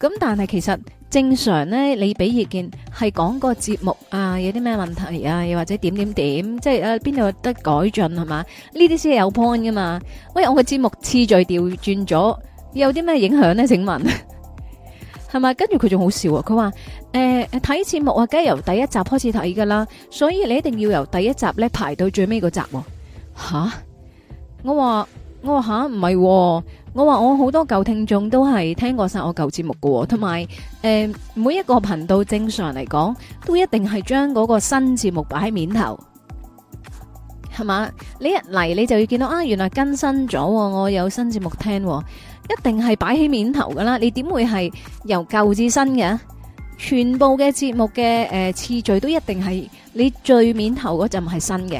咁但係其實正常咧，你俾意見係講個節目啊，有啲咩問題啊，又或者點點點，即係邊度有得改進係嘛？呢啲先係有 point 噶嘛？喂，我個節目次序調轉咗，有啲咩影響咧？請問係咪？跟住佢仲好笑啊！佢話睇節目啊，梗係由第一集開始睇噶啦，所以你一定要由第一集咧排到最尾嗰集。吓，我話吓唔係，我話我好多舊聽眾都係聽過晒我舊節目噶，同埋每一個頻道正常嚟講都一定係將嗰個新節目擺喺面頭，係嘛？你一嚟你就要見到啊，原來更新咗，我有新節目聽，一定係擺喺面頭噶啦。你點會係由舊至新嘅？全部嘅節目嘅次序都一定係你最面頭嗰陣係新嘅，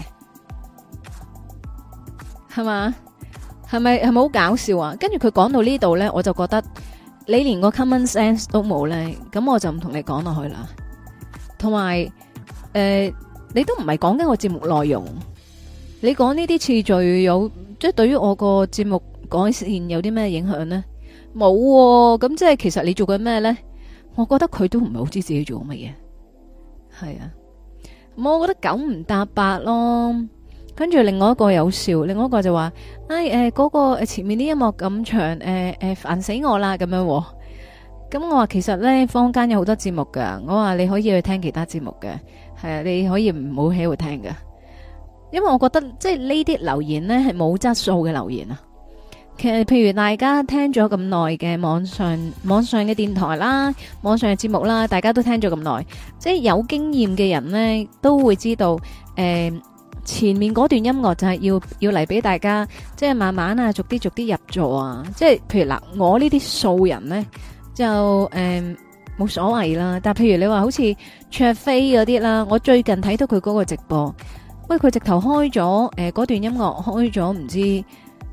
係嘛？係咪好搞笑啊？跟住佢講到呢度呢，我就覺得你連個 common sense 都冇呢，咁我就唔同你講落去啦。同埋你都唔係講緊我節目內容，你講呢啲次序有即係對於我個節目改善有啲咩影響呢？冇喎，咁即係其實你做緊咩呢？我覺得佢都唔係好知自己做乜嘢，係啊，我覺得九唔搭八咯。跟住另外一個有笑，另外一個就話，嗰個前面啲音樂咁長，煩死我啦咁樣。咁我話其實呢，坊間有好多節目噶，我話你可以去聽其他節目嘅，係啊，你可以唔好喺度聽噶，因為我覺得即係呢啲留言呢係冇質素嘅留言啊。其實譬如大家聽咗咁耐嘅網上嘅電台啦，網上嘅節目啦，大家都聽咗咁耐，即係有經驗嘅人呢都會知道，前面嗰段音樂就係要嚟俾大家，即係慢慢啊，逐啲入座啊。即係譬如嗱，我呢啲素人呢，就冇所謂啦。但係譬如你話好似卓飛嗰啲啦，我最近睇到佢嗰個直播，喂，佢直頭開咗嗰段音樂開咗唔知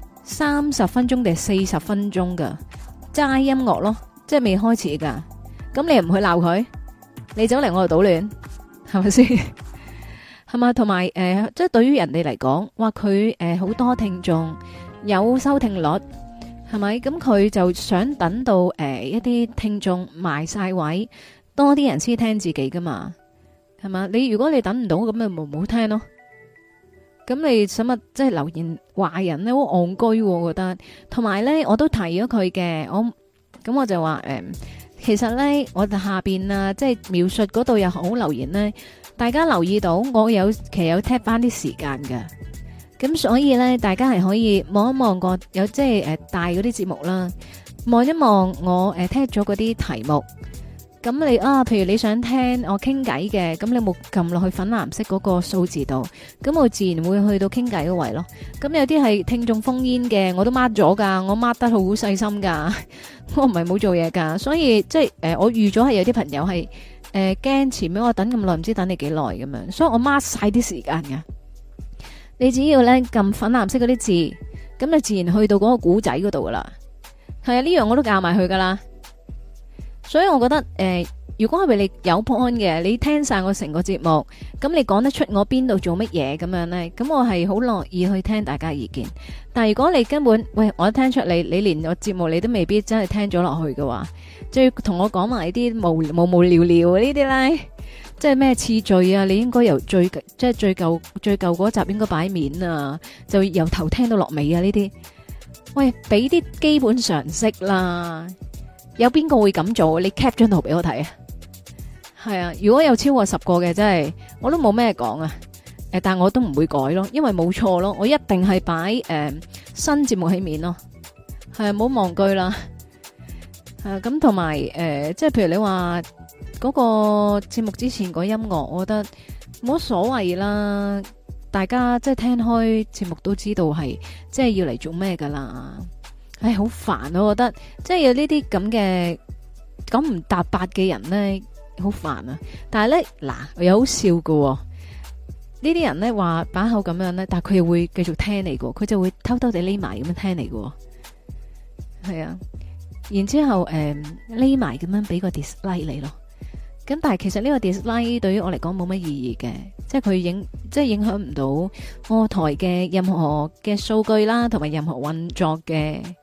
30分鐘定40分鐘噶齋音樂咯，即係未開始噶。咁你又唔去鬧佢，你走嚟我度搗亂，係咪先？係嘛，同埋即係對於人哋嚟講，話佢好多聽眾有收聽率，係咪？咁佢就想等到一啲聽眾埋晒位，多啲人先聽自己噶嘛，係嘛？如果你等唔到，咁咪唔好聽咯。咁你使乜即係留言話人咧？好戇居，我覺得。同埋咧，我都提咗佢嘅，我就話其實咧，我下邊啊，即係描述嗰度有好留言咧。大家留意到，我其實有踢翻啲時間㗎，咁所以咧，大家係可以望一望個有即係大嗰啲節目啦，望一望我踢咗嗰啲題目。咁你譬如你想聽我傾偈嘅，咁你冇撳落去粉藍色嗰個數字度，咁我自然會去到傾偈嗰位咯。咁有啲係聽眾烽煙嘅，我都 mark 咗噶，我 mark 得好細心噶，我唔係冇做嘢噶，所以即係我預咗係有啲朋友係。驚前面我等咁耐，唔知等你幾耐咁樣，所以我 mark 晒啲時間噶。你只要咧撳粉藍色嗰啲字，咁你自然去到嗰個古仔嗰度噶啦。係啊，呢樣我都教埋佢噶啦。所以我覺得如果係咪你有 point 嘅，你聽晒我成個節目，咁你講得出我邊度做乜嘢咁樣呢？咁我係好樂意去聽大家意見。但係如果你根本喂我聽出你連我節目你都未必真係聽咗落去嘅話，就要同我講埋啲無聊聊呢啲咧，即係咩次序啊？你應該由最舊嗰集應該擺面啊，就由頭聽到落尾啊呢啲。喂，俾啲基本常識啦。有邊個會咁做？你 cap 張圖俾我睇啊！係啊，如果有超過10個嘅，真係我都冇咩講啊。但我都唔會改咯，因為冇錯咯，我一定係擺新節目起面咯。係啊，唔好忘記啦。咁同埋即係譬如你話嗰個節目之前個音樂，我覺得冇乜所謂啦。大家即係聽開節目都知道係即係要嚟做咩噶啦。唉，好煩啊！我覺得即係有呢啲咁嘅咁唔搭八嘅人咧，好煩啊！但係咧嗱，又好笑噶喎，呢啲人咧話把口咁樣咧，但係佢又會繼續聽你噶，佢就會偷偷地匿埋咁樣聽你噶，係啊，然之後匿埋咁樣俾個 dislike 你咯。咁但係其實呢個 dislike 對於我嚟講冇乜意義嘅，即係佢影響唔到我台嘅任何嘅數據啦，同埋任何運作嘅。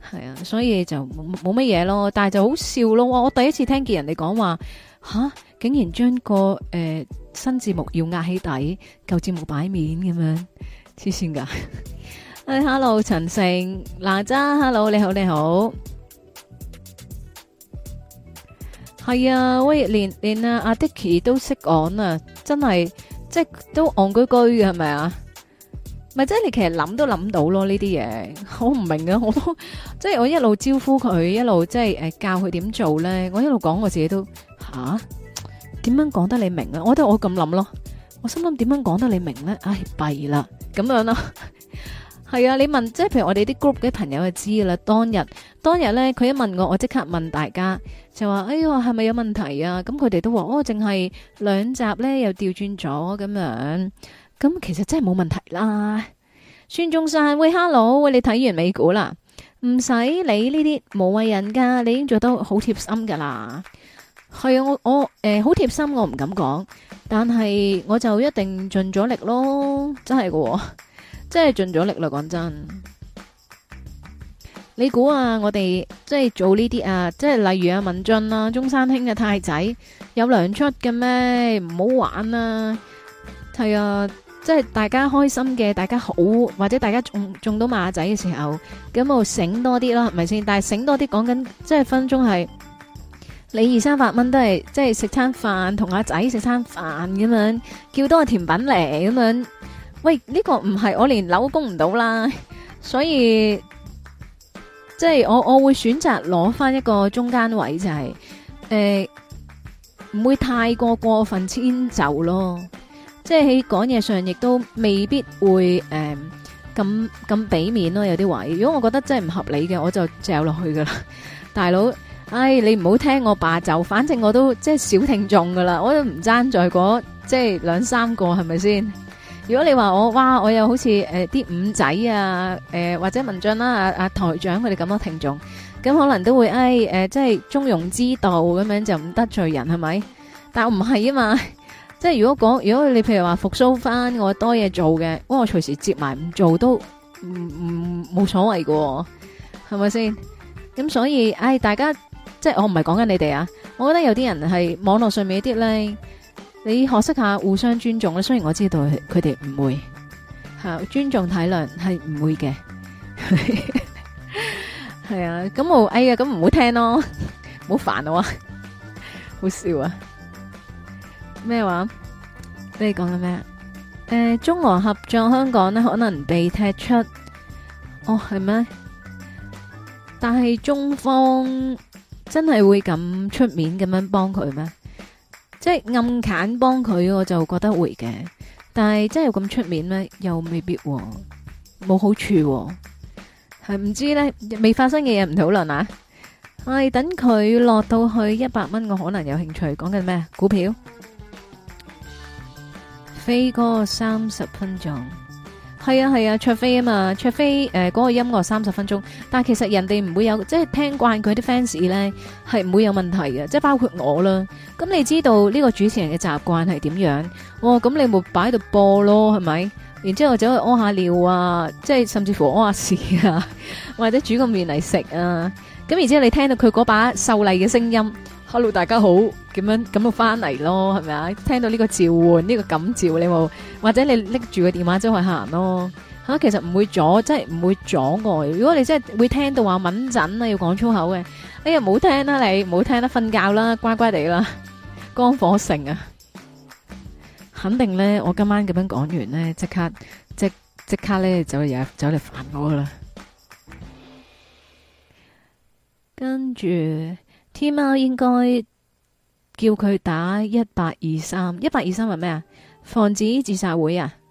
係啊，所以就冇乜嘢咯。但係就好笑咯。我第一次聽見人哋講話吓，竟然將個新節目要壓起底，舊節目擺面咁樣，黐線噶。Hello 陳成哪吒 ，Hello 你好你好。係啊，喂，連阿 Dicky 都識講啊，真係即係都戇居居嘅係咪啊？咪即係你其實諗都諗到咯呢啲嘢，我唔明啊，我都即係我一路招呼佢，一路即係教佢點做咧，我一路講我自己都吓點樣講得你明啊？我覺得我咁諗咯，我心諗點樣講得你明咧？唉弊啦咁樣咯，係啊，你問即係譬如我哋啲 group 嘅朋友就知啦。當日咧佢一問我即刻問大家就話哎呀係咪有問題啊？咁佢哋都話哦淨係2集咧又調轉咗咁樣。咁其實真係冇問題啦。孫中山，喂 hello， 喂你睇完美股啦？唔使理呢啲無謂人噶，你已經做得好貼心噶啦。係啊，我好貼心，我唔敢講，但係我就一定盡咗力咯，真係噶，真係盡咗力啦。講真，你估啊，我哋即係做呢啲啊，即係例如阿文俊啊、中山兄嘅太仔有糧出嘅咩？唔好玩啊！係啊。即係大家開心嘅，大家好，或者大家中到馬仔嘅時候，咁就醒多啲咯，係咪先？但係醒多啲講緊，即係分鐘係你200-300蚊都係，即係食餐飯同阿仔食餐飯咁樣，叫多個甜品嚟咁樣。喂，呢個唔係我連樓供唔到啦，所以即係我會選擇攞翻一個中間位，就係唔會太過分遷就咯。即係喺講嘢上，亦都未必會咁俾面咯。有啲位，如果我覺得真係唔合理嘅，我就嚼落去噶啦。大佬，唉，你唔好聽我罷就，反正我都即係小聽眾噶啦，我都唔爭在嗰即係2-3個，係咪先？如果你話我，哇，我又好似啲五仔啊，或者文進啦，阿台長佢哋咁多聽眾，咁可能都會即係中庸之道咁樣就唔得罪人，係咪？但我唔係啊嘛。即係如果你譬如話復蘇翻，我多嘢做嘅，我隨時接埋唔做都冇所謂喎，係咪先？咁所以，大家即係我唔係講緊你哋啊，我覺得有啲人係網絡上面啲咧，你學識下互相尊重咧。雖然我知道佢哋唔會尊重體諒係唔會嘅，係啊，咁我咁唔好聽咯，唔好煩我啊，好笑啊！咩話？你講緊咩？中俄合作香港呢可能被踢出。哦，係咩？但係中方真係會咁出面咁樣幫佢咩？即係暗砍幫佢，我就覺得會嘅。但係真係咁出面咩？又未必喎，冇好處喎。係唔知呢？未發生嘅嘢唔討論啊！等佢落到去100蚊，我可能有興趣。講緊咩？股票？飛哥30分鐘，係啊，卓飛啊嘛，卓飛嗰個音樂30分鐘，但係其實人哋唔會有，即係聽慣佢啲 fans 咧，係唔會有問題嘅，即係包括我啦。咁你知道呢個主持人嘅習慣係點樣？咁你咪擺喺度播咯，係咪？然之後走去屙下尿啊，即係甚至乎屙下屎啊，或者煮個麵嚟食啊。咁然之後你聽到佢嗰把秀麗嘅聲音。Hello， 大家好，咁就翻嚟咯，係咪啊？聽到呢個召喚，呢個感召，你冇或者你拎住個電話周去行咯其實唔會阻，即係唔會阻礙。如果你真係會聽到話敏陣啊，要講粗口嘅，哎呀唔好聽啦，你唔好聽啦，瞓覺啦，乖乖地啦，光火城啊，肯定咧，我今晚咁樣講完咧，即刻咧走嚟煩我噶啦，跟住。天貓應該叫佢打1823，1823係咩啊？防止自殺會啊！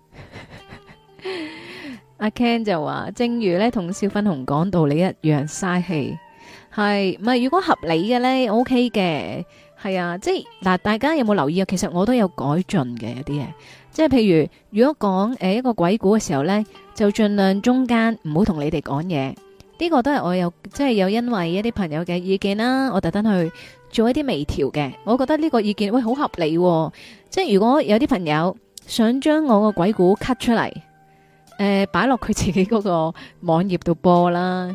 阿 Ken 就話，正如咧同小粉紅講道理一樣，嘥氣係唔係？如果合理嘅咧，OK 嘅，係啊，即係嗱，大家有冇留意啊？其實我都有改進嘅有啲嘢，即係譬如如果講一個鬼故嘅時候咧，就盡量中間唔好同你哋講嘢。呢個都係我有即係有因為一啲朋友嘅意見啦，我特登去做一啲微調嘅。我覺得呢個意見喂好合理喎，即係如果有啲朋友想將我個鬼故 cut 出嚟，擺落佢自己嗰個網頁度播啦，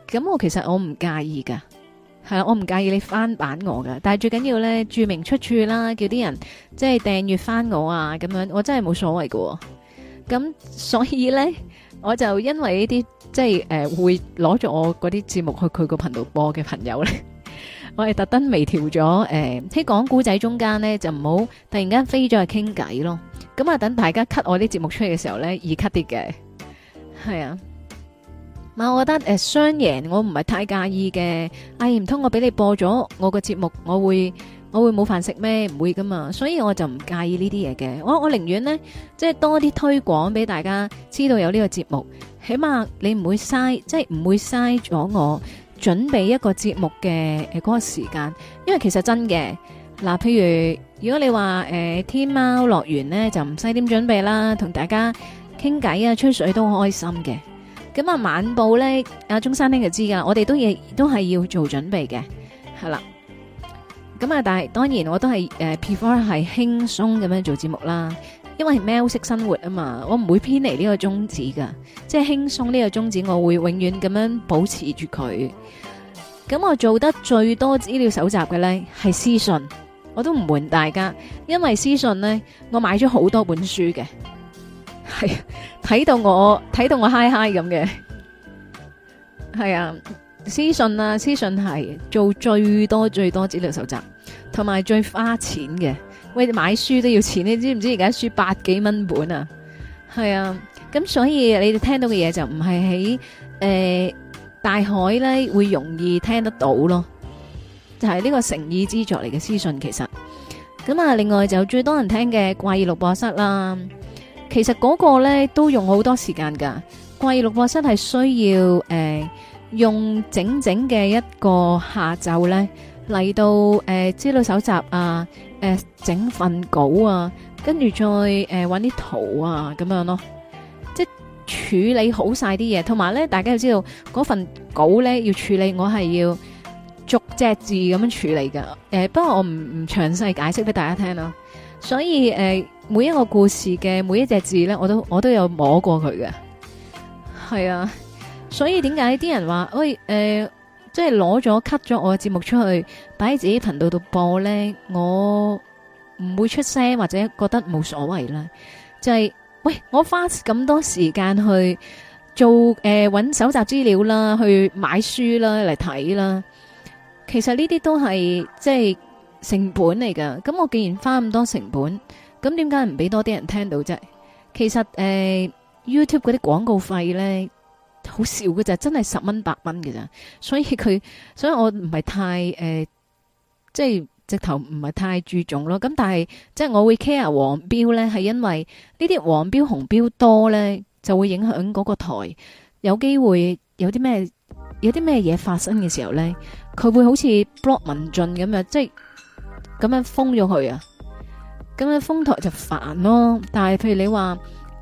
咁我其實我唔介意噶，係啦，我唔介意你翻版我噶，但係最緊要咧注明出處啦，叫啲人即係訂閱翻我啊，咁樣我真係冇所謂噶。咁所以咧，我就因為呢啲即係會攞咗我嗰啲節目去佢個頻道播嘅朋友咧，我係特登微調咗喺講古仔中間咧就唔好突然間飛咗去傾偈咯。咁啊，等大家 cut 我啲節目出去嘅時候咧，易 cut 啲嘅，係啊。我覺得雙贏我唔係太介意嘅。唔通我俾你播咗我個節目，我會冇飯食咩？唔會噶嘛，所以我就唔介意呢啲嘢嘅。我寧願呢，即係多啲推廣俾大家知道有呢個節目，起碼你唔會嘥，即係唔會嘥咗我準備一個節目嘅嗰個時間。因為其實真嘅嗱，譬如如果你話天喵樂園呢，就唔使點準備啦，同大家傾偈啊吹水都開心嘅。咁啊，晚報咧，阿中山兄就知噶，我哋都係要做準備嘅，係啦。咁啊，但係當然我都係prefer 係輕鬆咁樣做節目啦，因為係喵式生活啊嘛，我唔會偏離呢個宗旨噶，即係輕鬆呢個宗旨，我會永遠咁樣保持住佢。咁我做得最多資料搜集嘅咧係私信，我都唔瞞大家，因為私信咧我買咗好多本書嘅。係睇到我嗨嗨咁嘅，係啊，私信係做最多資料搜集，同埋最花錢嘅。喂，買書都要錢，你知唔知而家書100幾蚊本啊？係啊，咁所以你哋聽到嘅嘢就唔係喺大海咧會容易聽得到咯，就係呢個誠意之作嚟嘅私信。其實咁啊，另外就最多人聽嘅怪異錄播室啦。其實嗰個咧都用好多時間噶，怪異錄播室係需要用整整嘅一個下晝咧嚟到資料搜集啊，整份稿啊，跟住再搵啲圖啊咁樣咯，即係處理好晒啲嘢，同埋咧大家要知道嗰份稿咧要處理，我係要逐隻字咁樣處理噶。不過我唔詳細解釋俾大家聽啦，所以每一個故事嘅每一隻字咧，我都有摸過佢嘅，係啊，所以點解啲人話喂即係攞咗 cut 咗我嘅節目出去擺喺自己頻道度播咧，我唔會出聲或者覺得冇所謂啦。就係喂，我花咁多時間去做搵搜集資料啦，去買書啦嚟睇啦，其實呢啲都係即係成本嚟噶。咁我既然花咁多成本，咁點解唔俾多啲人聽到啫？其實YouTube 嗰啲廣告費咧好少嘅咋，真係10蚊8蚊嘅咋。所以我唔係太即係直頭唔係太注重咯。咁但係即係我會 care 黃標咧，係因為呢啲黃標紅標多咧，就會影響嗰個台有機會有啲咩嘢發生嘅時候咧，佢會好似 block 文進咁樣，即係咁樣封咗佢啊。咁樣封台就煩咯，但係譬如你話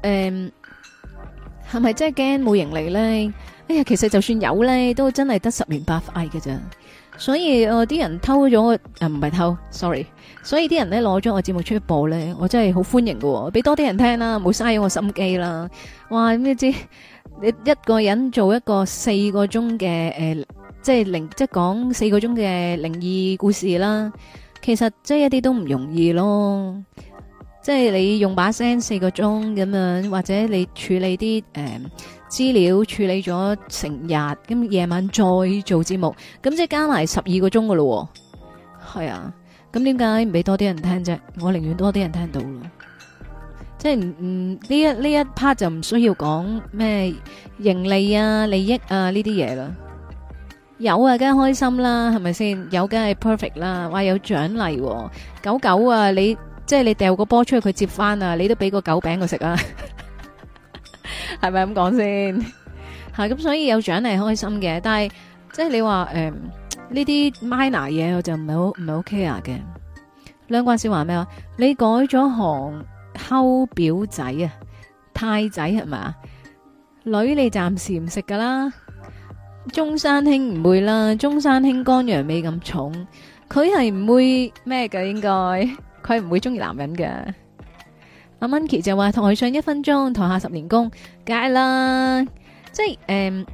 係咪真係驚冇盈利咧？哎呀，其實就算有咧，都真係得10年8塊嘅咋。所以啲人偷咗我唔係偷 ，sorry。所以啲人咧攞咗我節目出去播咧，我真係好歡迎喎，俾多啲人聽啦，冇嘥咗我心機啦。哇，咁知你一個人做一個4個鐘嘅即係講4個鐘嘅靈異故事啦。其實即係一啲都唔容易咯，即係你用把聲4個鐘咁樣，或者你處理啲資料處理咗成日，咁夜晚再做節目，咁即係加埋12個鐘噶咯。係啊，咁點解唔俾多啲人聽啫？我寧願多啲人聽到咯，即係呢一 part 就唔需要講咩盈利啊、利益啊呢啲嘢啦。有啊，梗係開心啦，係咪先？有梗係 perfect 啦，話有獎勵，狗啊，你即係你掉個波出去佢接翻啊，你都俾個狗餅佢食啊，係咪咁講先？吓，咁所以有獎勵開心嘅，但係即係你話呢啲 minor 嘢我就唔係好 care 嘅。兩關少話咩話？你改咗行溝表仔啊，太仔係嘛？女你暫時唔食噶啦。中山兄唔會啦，中山兄肝陽味咁重，佢係唔會咩嘅，應該佢唔會中意男人嘅。阿 Monkey 就話台上1分鐘，台下10年功，梗係啦，即係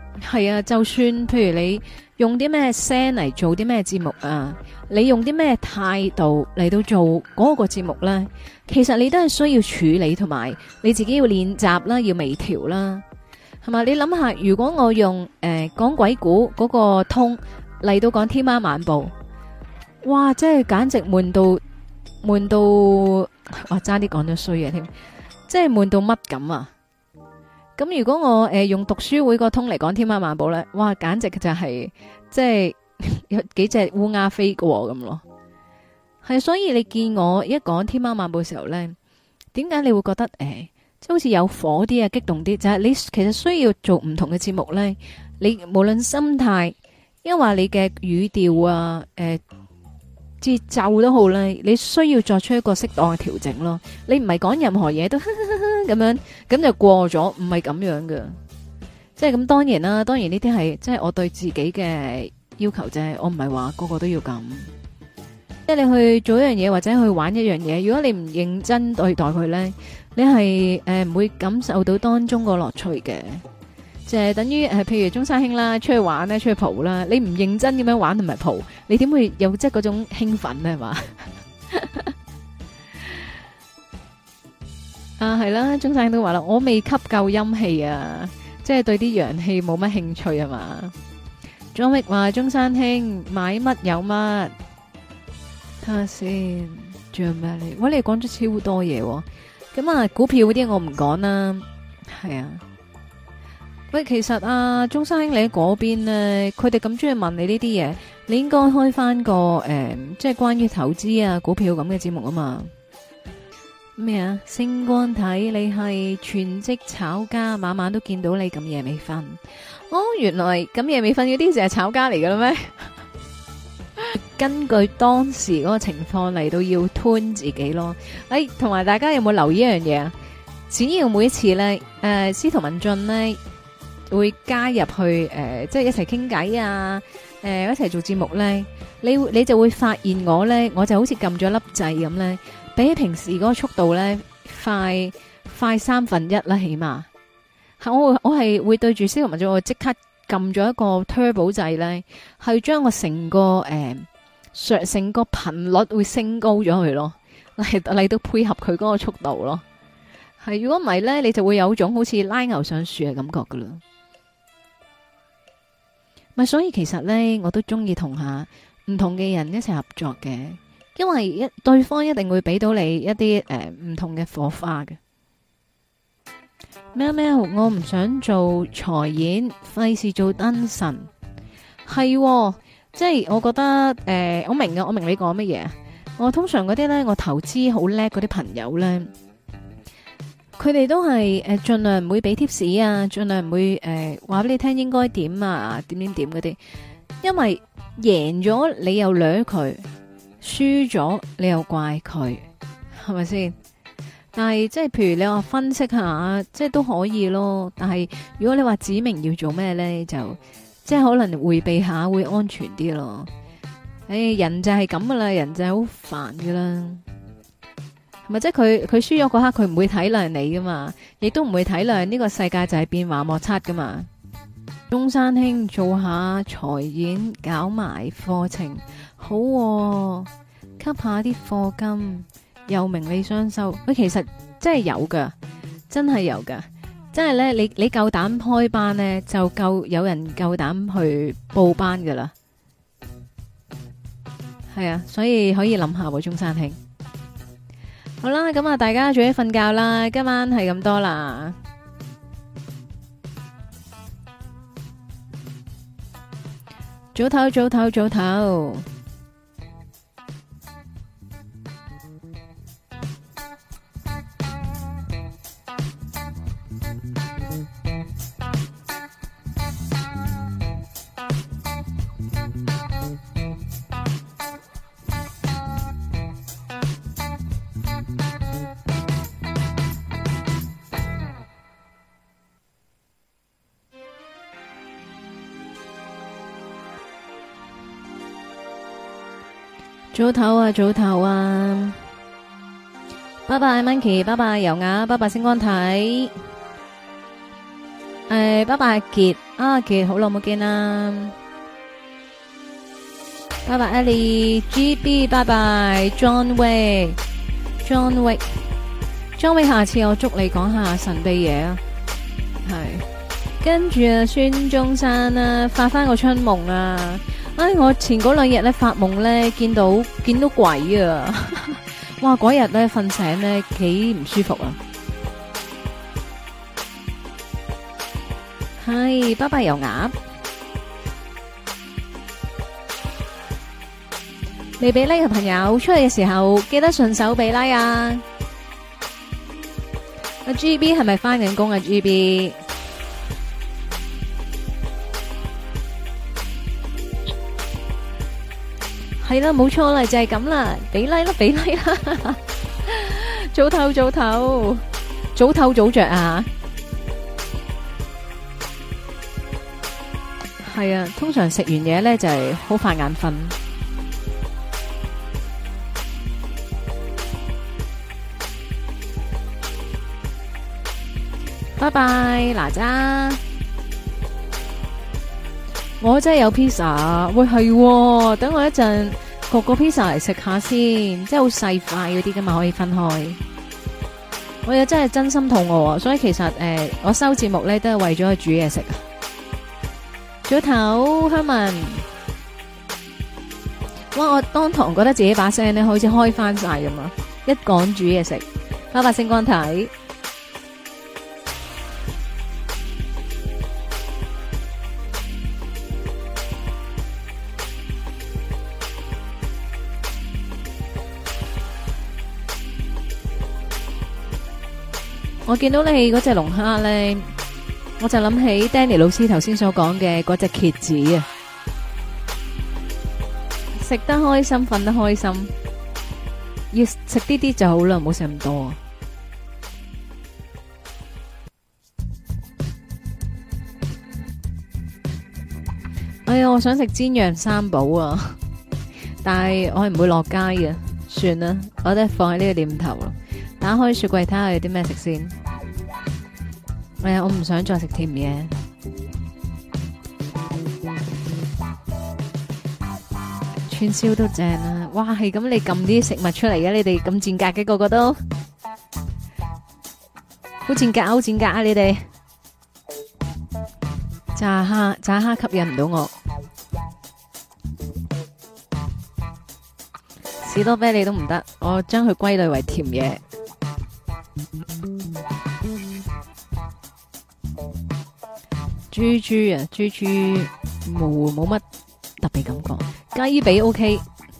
係啊，就算譬如你用啲咩聲嚟做啲咩節目啊，你用啲咩態度嚟到做嗰個節目咧，其實你都係需要處理，同埋你自己要練習啦，要微調啦，係嘛？你諗下，如果我用講鬼故嗰個通嚟到講天喵晚報，哇，真係簡直悶到，哇，差啲講咗衰嘢添，即係悶到乜咁啊！咁如果我用讀書會個通嚟講天喵晚報咧，哇，簡直就係即係有幾隻烏鴉飛過咁咯。係，所以你見我一講天喵晚報嘅時候咧，點解你會覺得即係好似有火啲啊，激動啲？就係你其實需要做唔同嘅節目咧，你無論心態，因為你嘅語調啊，節奏都好咧，你需要作出一個適當嘅調整咯。你唔係講任何嘢都咁樣，咁就過咗，唔係咁樣嘅。即係咁，當然啦，當然呢啲係即係我對自己嘅要求啫。我唔係話個個都要咁。即係你去做一樣嘢或者去玩一樣嘢，如果你唔認真對待佢咧，你係唔會感受到當中個樂趣嘅。就係等於譬如中山兄啦，出去玩咧，出去蒲啦，你唔認真咁樣玩同埋蒲，你點會有即係嗰種興奮咧？係嘛？啊，係啦，中山兄都話啦，我未吸夠陰氣啊，即係對啲陽氣冇乜興趣啊嘛。張域話中山兄買乜有乜，睇下先，仲有咩嚟？喂，你講咗超多嘢喎，咁啊，股票嗰啲我唔講啦，係啊。喂，其實啊，中山兄你喺嗰邊咧，佢哋咁中意問你呢啲嘢，你應該開翻個即係關於投資啊、股票咁嘅節目啊嘛。咩啊？星光睇你係全職炒家，晚晚都見到你咁夜未瞓。哦，原來咁夜未瞓嗰啲就係炒家嚟噶啦咩？根據當時嗰個情況嚟到要吞自己咯。同埋大家有冇留意一樣嘢啊？只要每一次咧，司徒文進咧，會加入去即係一齊傾偈啊，一齊做節目咧，你就會發現我咧，我就好似撳咗粒掣咁咧，比起平時嗰個速度咧快1/3啦，起碼我係會對住司徒文進，我即刻撳咗一個 turbo 掣咧，係將我成個成個頻率會升高咗佢咯，嚟到配合佢嗰個速度咯。係，如果唔係咧，你就會有種好似拉牛上樹嘅感覺噶啦。咪所以其實咧，我都中意同下唔同嘅人一齊合作嘅，因為對方一定會俾到你一啲唔同嘅火花嘅。喵喵，我唔想做財演，費事做燈神。係，即係我覺得我明㗎，我明你講乜嘢。我通常嗰啲咧，我投資好叻嗰啲朋友咧，佢哋都係盡量唔會俾 tips 啊，盡量唔會話俾你聽應該點啊，點嗰啲，因為贏咗你又掠佢，輸咗你又怪佢，係咪先？但係即係譬如你話分析下，即係都可以咯。但係如果你話指明要做咩咧，就即係可能回避下會安全啲咯。人就係咁噶啦，人就係好煩噶啦。咪即係佢輸咗嗰刻，佢唔會體諒你噶嘛，亦都唔會體諒呢個世界就係變幻莫測噶嘛。中山兄做下財演，搞埋課程，好喎，吸下啲課金，又名利雙收。喂，其實真係有噶，真係有噶，真係咧，你夠膽開班咧，就夠有人夠膽去報班噶啦。係啊，所以可以諗下喎，中山兄。好啦，咁啊，大家早啲瞓覺啦，今晚係咁多啦。早唞，早唞，早唞。早唞啊，早唞啊！拜拜 Monkey， 拜拜油鴨，拜拜星光體。 拜拜阿杰，阿杰好耐冇見啦，拜拜 Ellie，GB 拜拜 John Way，John Way，John Way，下次我捉你講下神秘嘢啊，係，跟住啊孫中山啊發翻個春夢啊，我前嗰兩日咧發夢咧見到鬼啊，哇嗰日咧瞓醒咧幾唔舒服啊。係，拜拜油鴨。未俾 like 嘅朋友，出去嘅時候記得順手俾 like 啊！阿 GB 係咪翻緊工啊 ？GB 係啦，冇錯啦，就係咁啦，俾 like 啦，俾 like 啦！早唞早唞，早唞早着啊！係啊，通常食完嘢咧就係好快眼瞓。拜拜，哪吒。我真係有 pizza，喂係，等我一陣焗個 pizza 嚟食下先，即係好細塊嗰啲噶嘛，可以分開。我又真係真心肚餓，所以其實我收節目咧都係為咗去煮嘢食啊。早唞，香文，哇！我當堂覺得自己把聲咧好似開翻晒咁啊！一講煮嘢食，拜拜星光體。我見到你嗰隻龍蝦咧。我就諗起 Danny 老師頭先所講嘅嗰隻蠍子啊，食得開心，瞓得開心，要食啲啲就好啦，唔好食咁多。哎呀，我想食煎釀三寶啊，但係我係唔會落街嘅，算啦，我都係放喺呢個念頭咯。打開雪櫃睇下有啲咩食先。哎呀，我唔想再食甜嘢。串燒都正啊！哇，係咁你撳啲食物出嚟嘅，你哋咁賤格嘅個個都，好賤格，好賤格啊！你哋炸蝦吸引唔到我，士多啤梨都唔得，我將佢歸類為甜嘢。豬啊，豬冇乜特別感覺，雞髀 OK，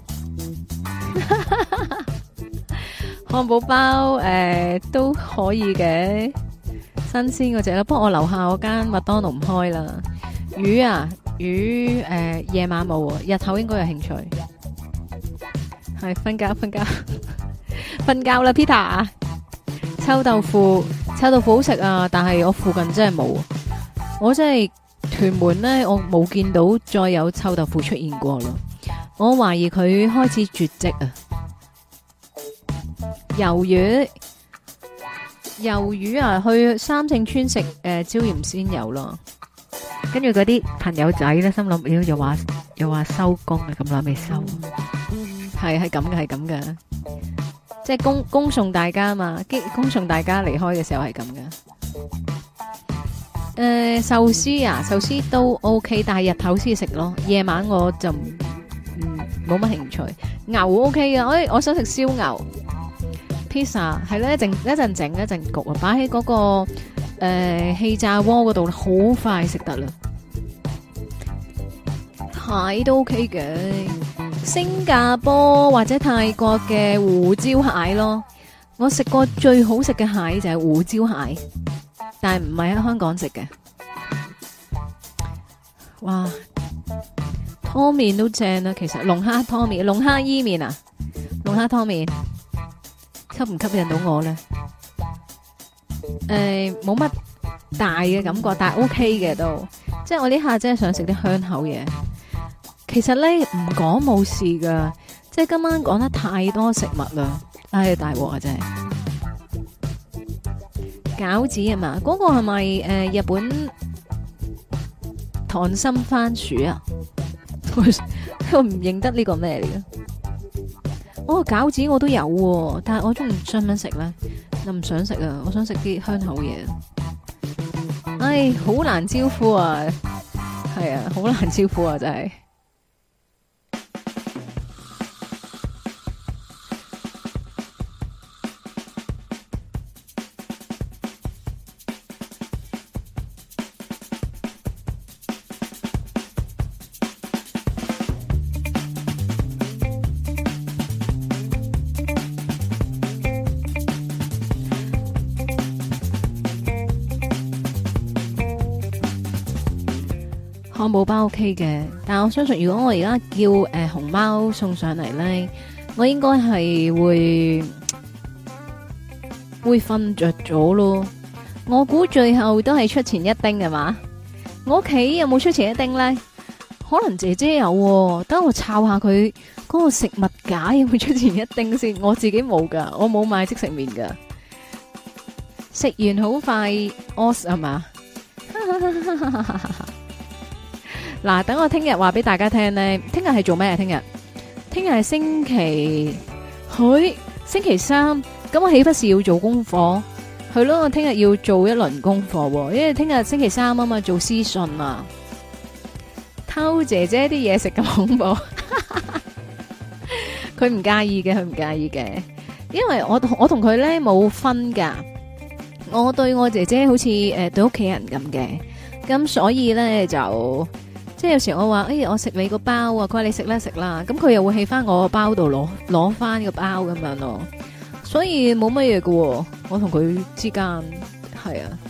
漢堡包都可以嘅，新鮮嗰隻啦。不過我樓下嗰間麥當勞唔開啦。魚夜晚冇，日頭應該有興趣。係瞓覺瞓覺啦 ，Peter。臭豆腐好食啊，但係我附近真係冇。我真係屯門咧，我冇見到再有臭豆腐出現過咯。我懷疑佢開始絕跡啊！魷魚啊，去三聖村食椒鹽鮮魷咯。跟住嗰啲朋友仔咧，心諗又話收工啊，咁耐未收，係咁嘅，即係恭送大家嘛，恭送大家離開嘅時候係咁嘅。壽司都 OK， 但係日頭先食咯，夜晚我就冇乜興趣。牛 OK 嘅，我想食燒牛。pizza 係咧，一陣整一陣焗啊，擺喺嗰個氣炸鍋嗰度，好快食得啦。蟹都 OK 嘅，新加坡或者泰國嘅胡椒蟹咯，我食過最好食嘅蟹就係胡椒蟹。但係唔係喺香港食嘅。哇，湯麵都正啊！其實龍蝦湯麵、龍蝦伊麵啊，龍蝦湯麵吸唔吸引到我咧？冇乜大嘅感覺，但係 OK 嘅都。即係我呢下真係想食啲香口嘢。其實咧唔講冇事噶，即係今晚講得太多食物啦，唉大鑊啊真係。餃子啊嘛，嗰個係咪日本溏心番薯啊，我唔認得呢個咩嚟嘅。哦，餃子我都有喎，但係我中唔想唔想食咧？又唔想食啊！我想食啲香口嘢。唉，好難招呼啊！係啊，好難招呼啊！真係。漢堡包 OK 嘅，但係我相信如果我而家叫熊貓送上嚟咧，我應該係會瞓着咗咯。我估最後都係出前一丁係嘛？我屋企有冇出前一丁咧？可能姐姐有，等我抄下佢嗰個食物架有冇出前一丁先。我自己冇噶，我冇買即食麵噶。食完好快屙係嘛？嗱，等我聽日話俾大家聽咧。聽日係做咩啊？聽日係星期三，咁我豈不是要做功課？係咯，我聽日要做一輪功課，因為聽日星期三啊嘛，做私信啊，偷姐姐啲嘢食咁恐怖。佢唔介意嘅，因為我同佢咧冇分噶，我對我姐姐好似對屋企人咁嘅，咁所以咧就。即係有時我話，我食你個包啊，佢話你食啦，咁佢又會喺翻我個包度攞翻個包咁樣咯，所以冇乜嘢喎。我同佢之間係啊，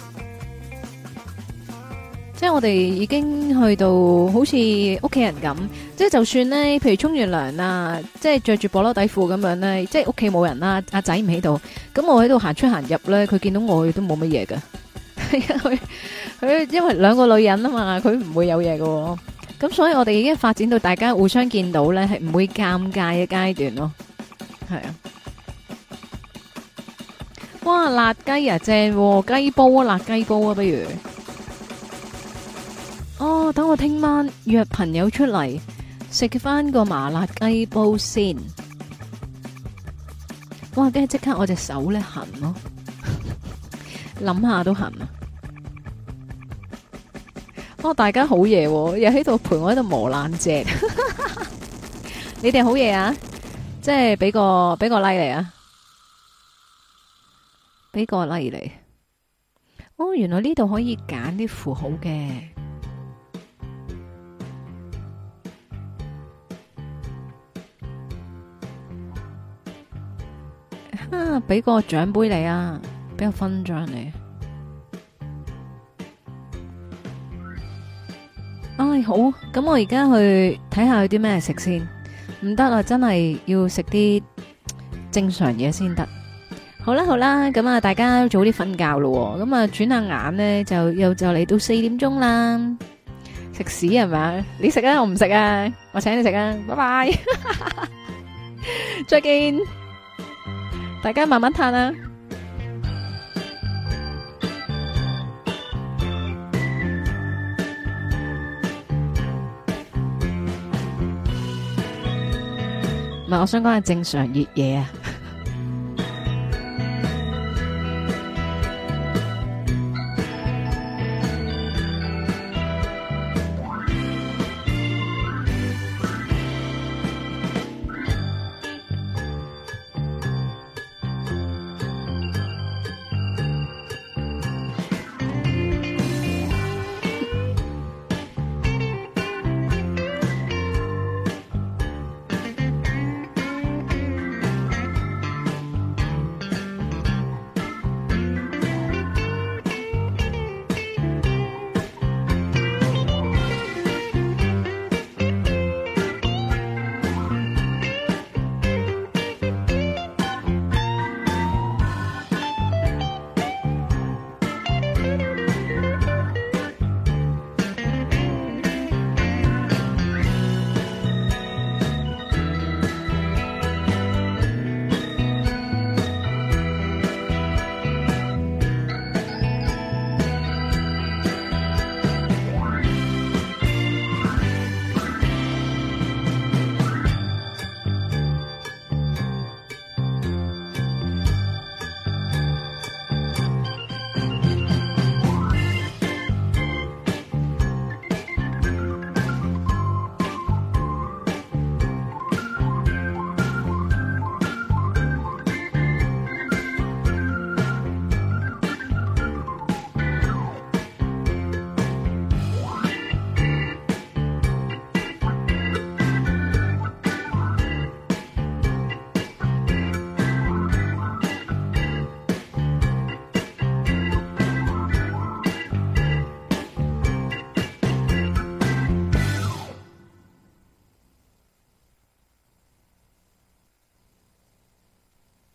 即係我哋已經去到好似屋企人咁，即係就算咧，譬如沖完涼啊，即係着住薄褸底褲咁樣咧，即係屋企冇人啦，阿仔唔喺度，咁我喺度行出行入咧，佢見到我亦都冇乜嘢噶。佢因為兩個女人啊嘛，佢唔會有嘢喎。咁所以我哋已經發展到大家互相見到咧，係唔會尷尬嘅階段咯。係啊，哇，辣雞啊，正雞煲啊，辣雞煲啊，不如哦，等我聽晚約朋友出嚟食翻個麻辣雞煲先。哇，跟住即刻我隻手咧痕咯，諗下都痕啊！哦，大家好嘢，又喺度陪我喺度磨爛只，你哋好嘢啊！即係俾個 like 嚟啊，俾個 like 嚟。哦，原來呢度可以揀啲符號嘅。俾個獎杯你啊，俾個勳章你。唉，好，咁我而家去睇下有啲咩食先。唔得啦，真係要食啲正常嘢先得。好啦，咁啊，大家早啲瞓覺咯。咁啊，轉下眼咧，就嚟到4點鐘啦。食屎係咪？你食啊，我唔食啊，我請你食啊，拜拜，再見，大家慢慢嘆啊。唔係，我想講係正常熱嘢啊。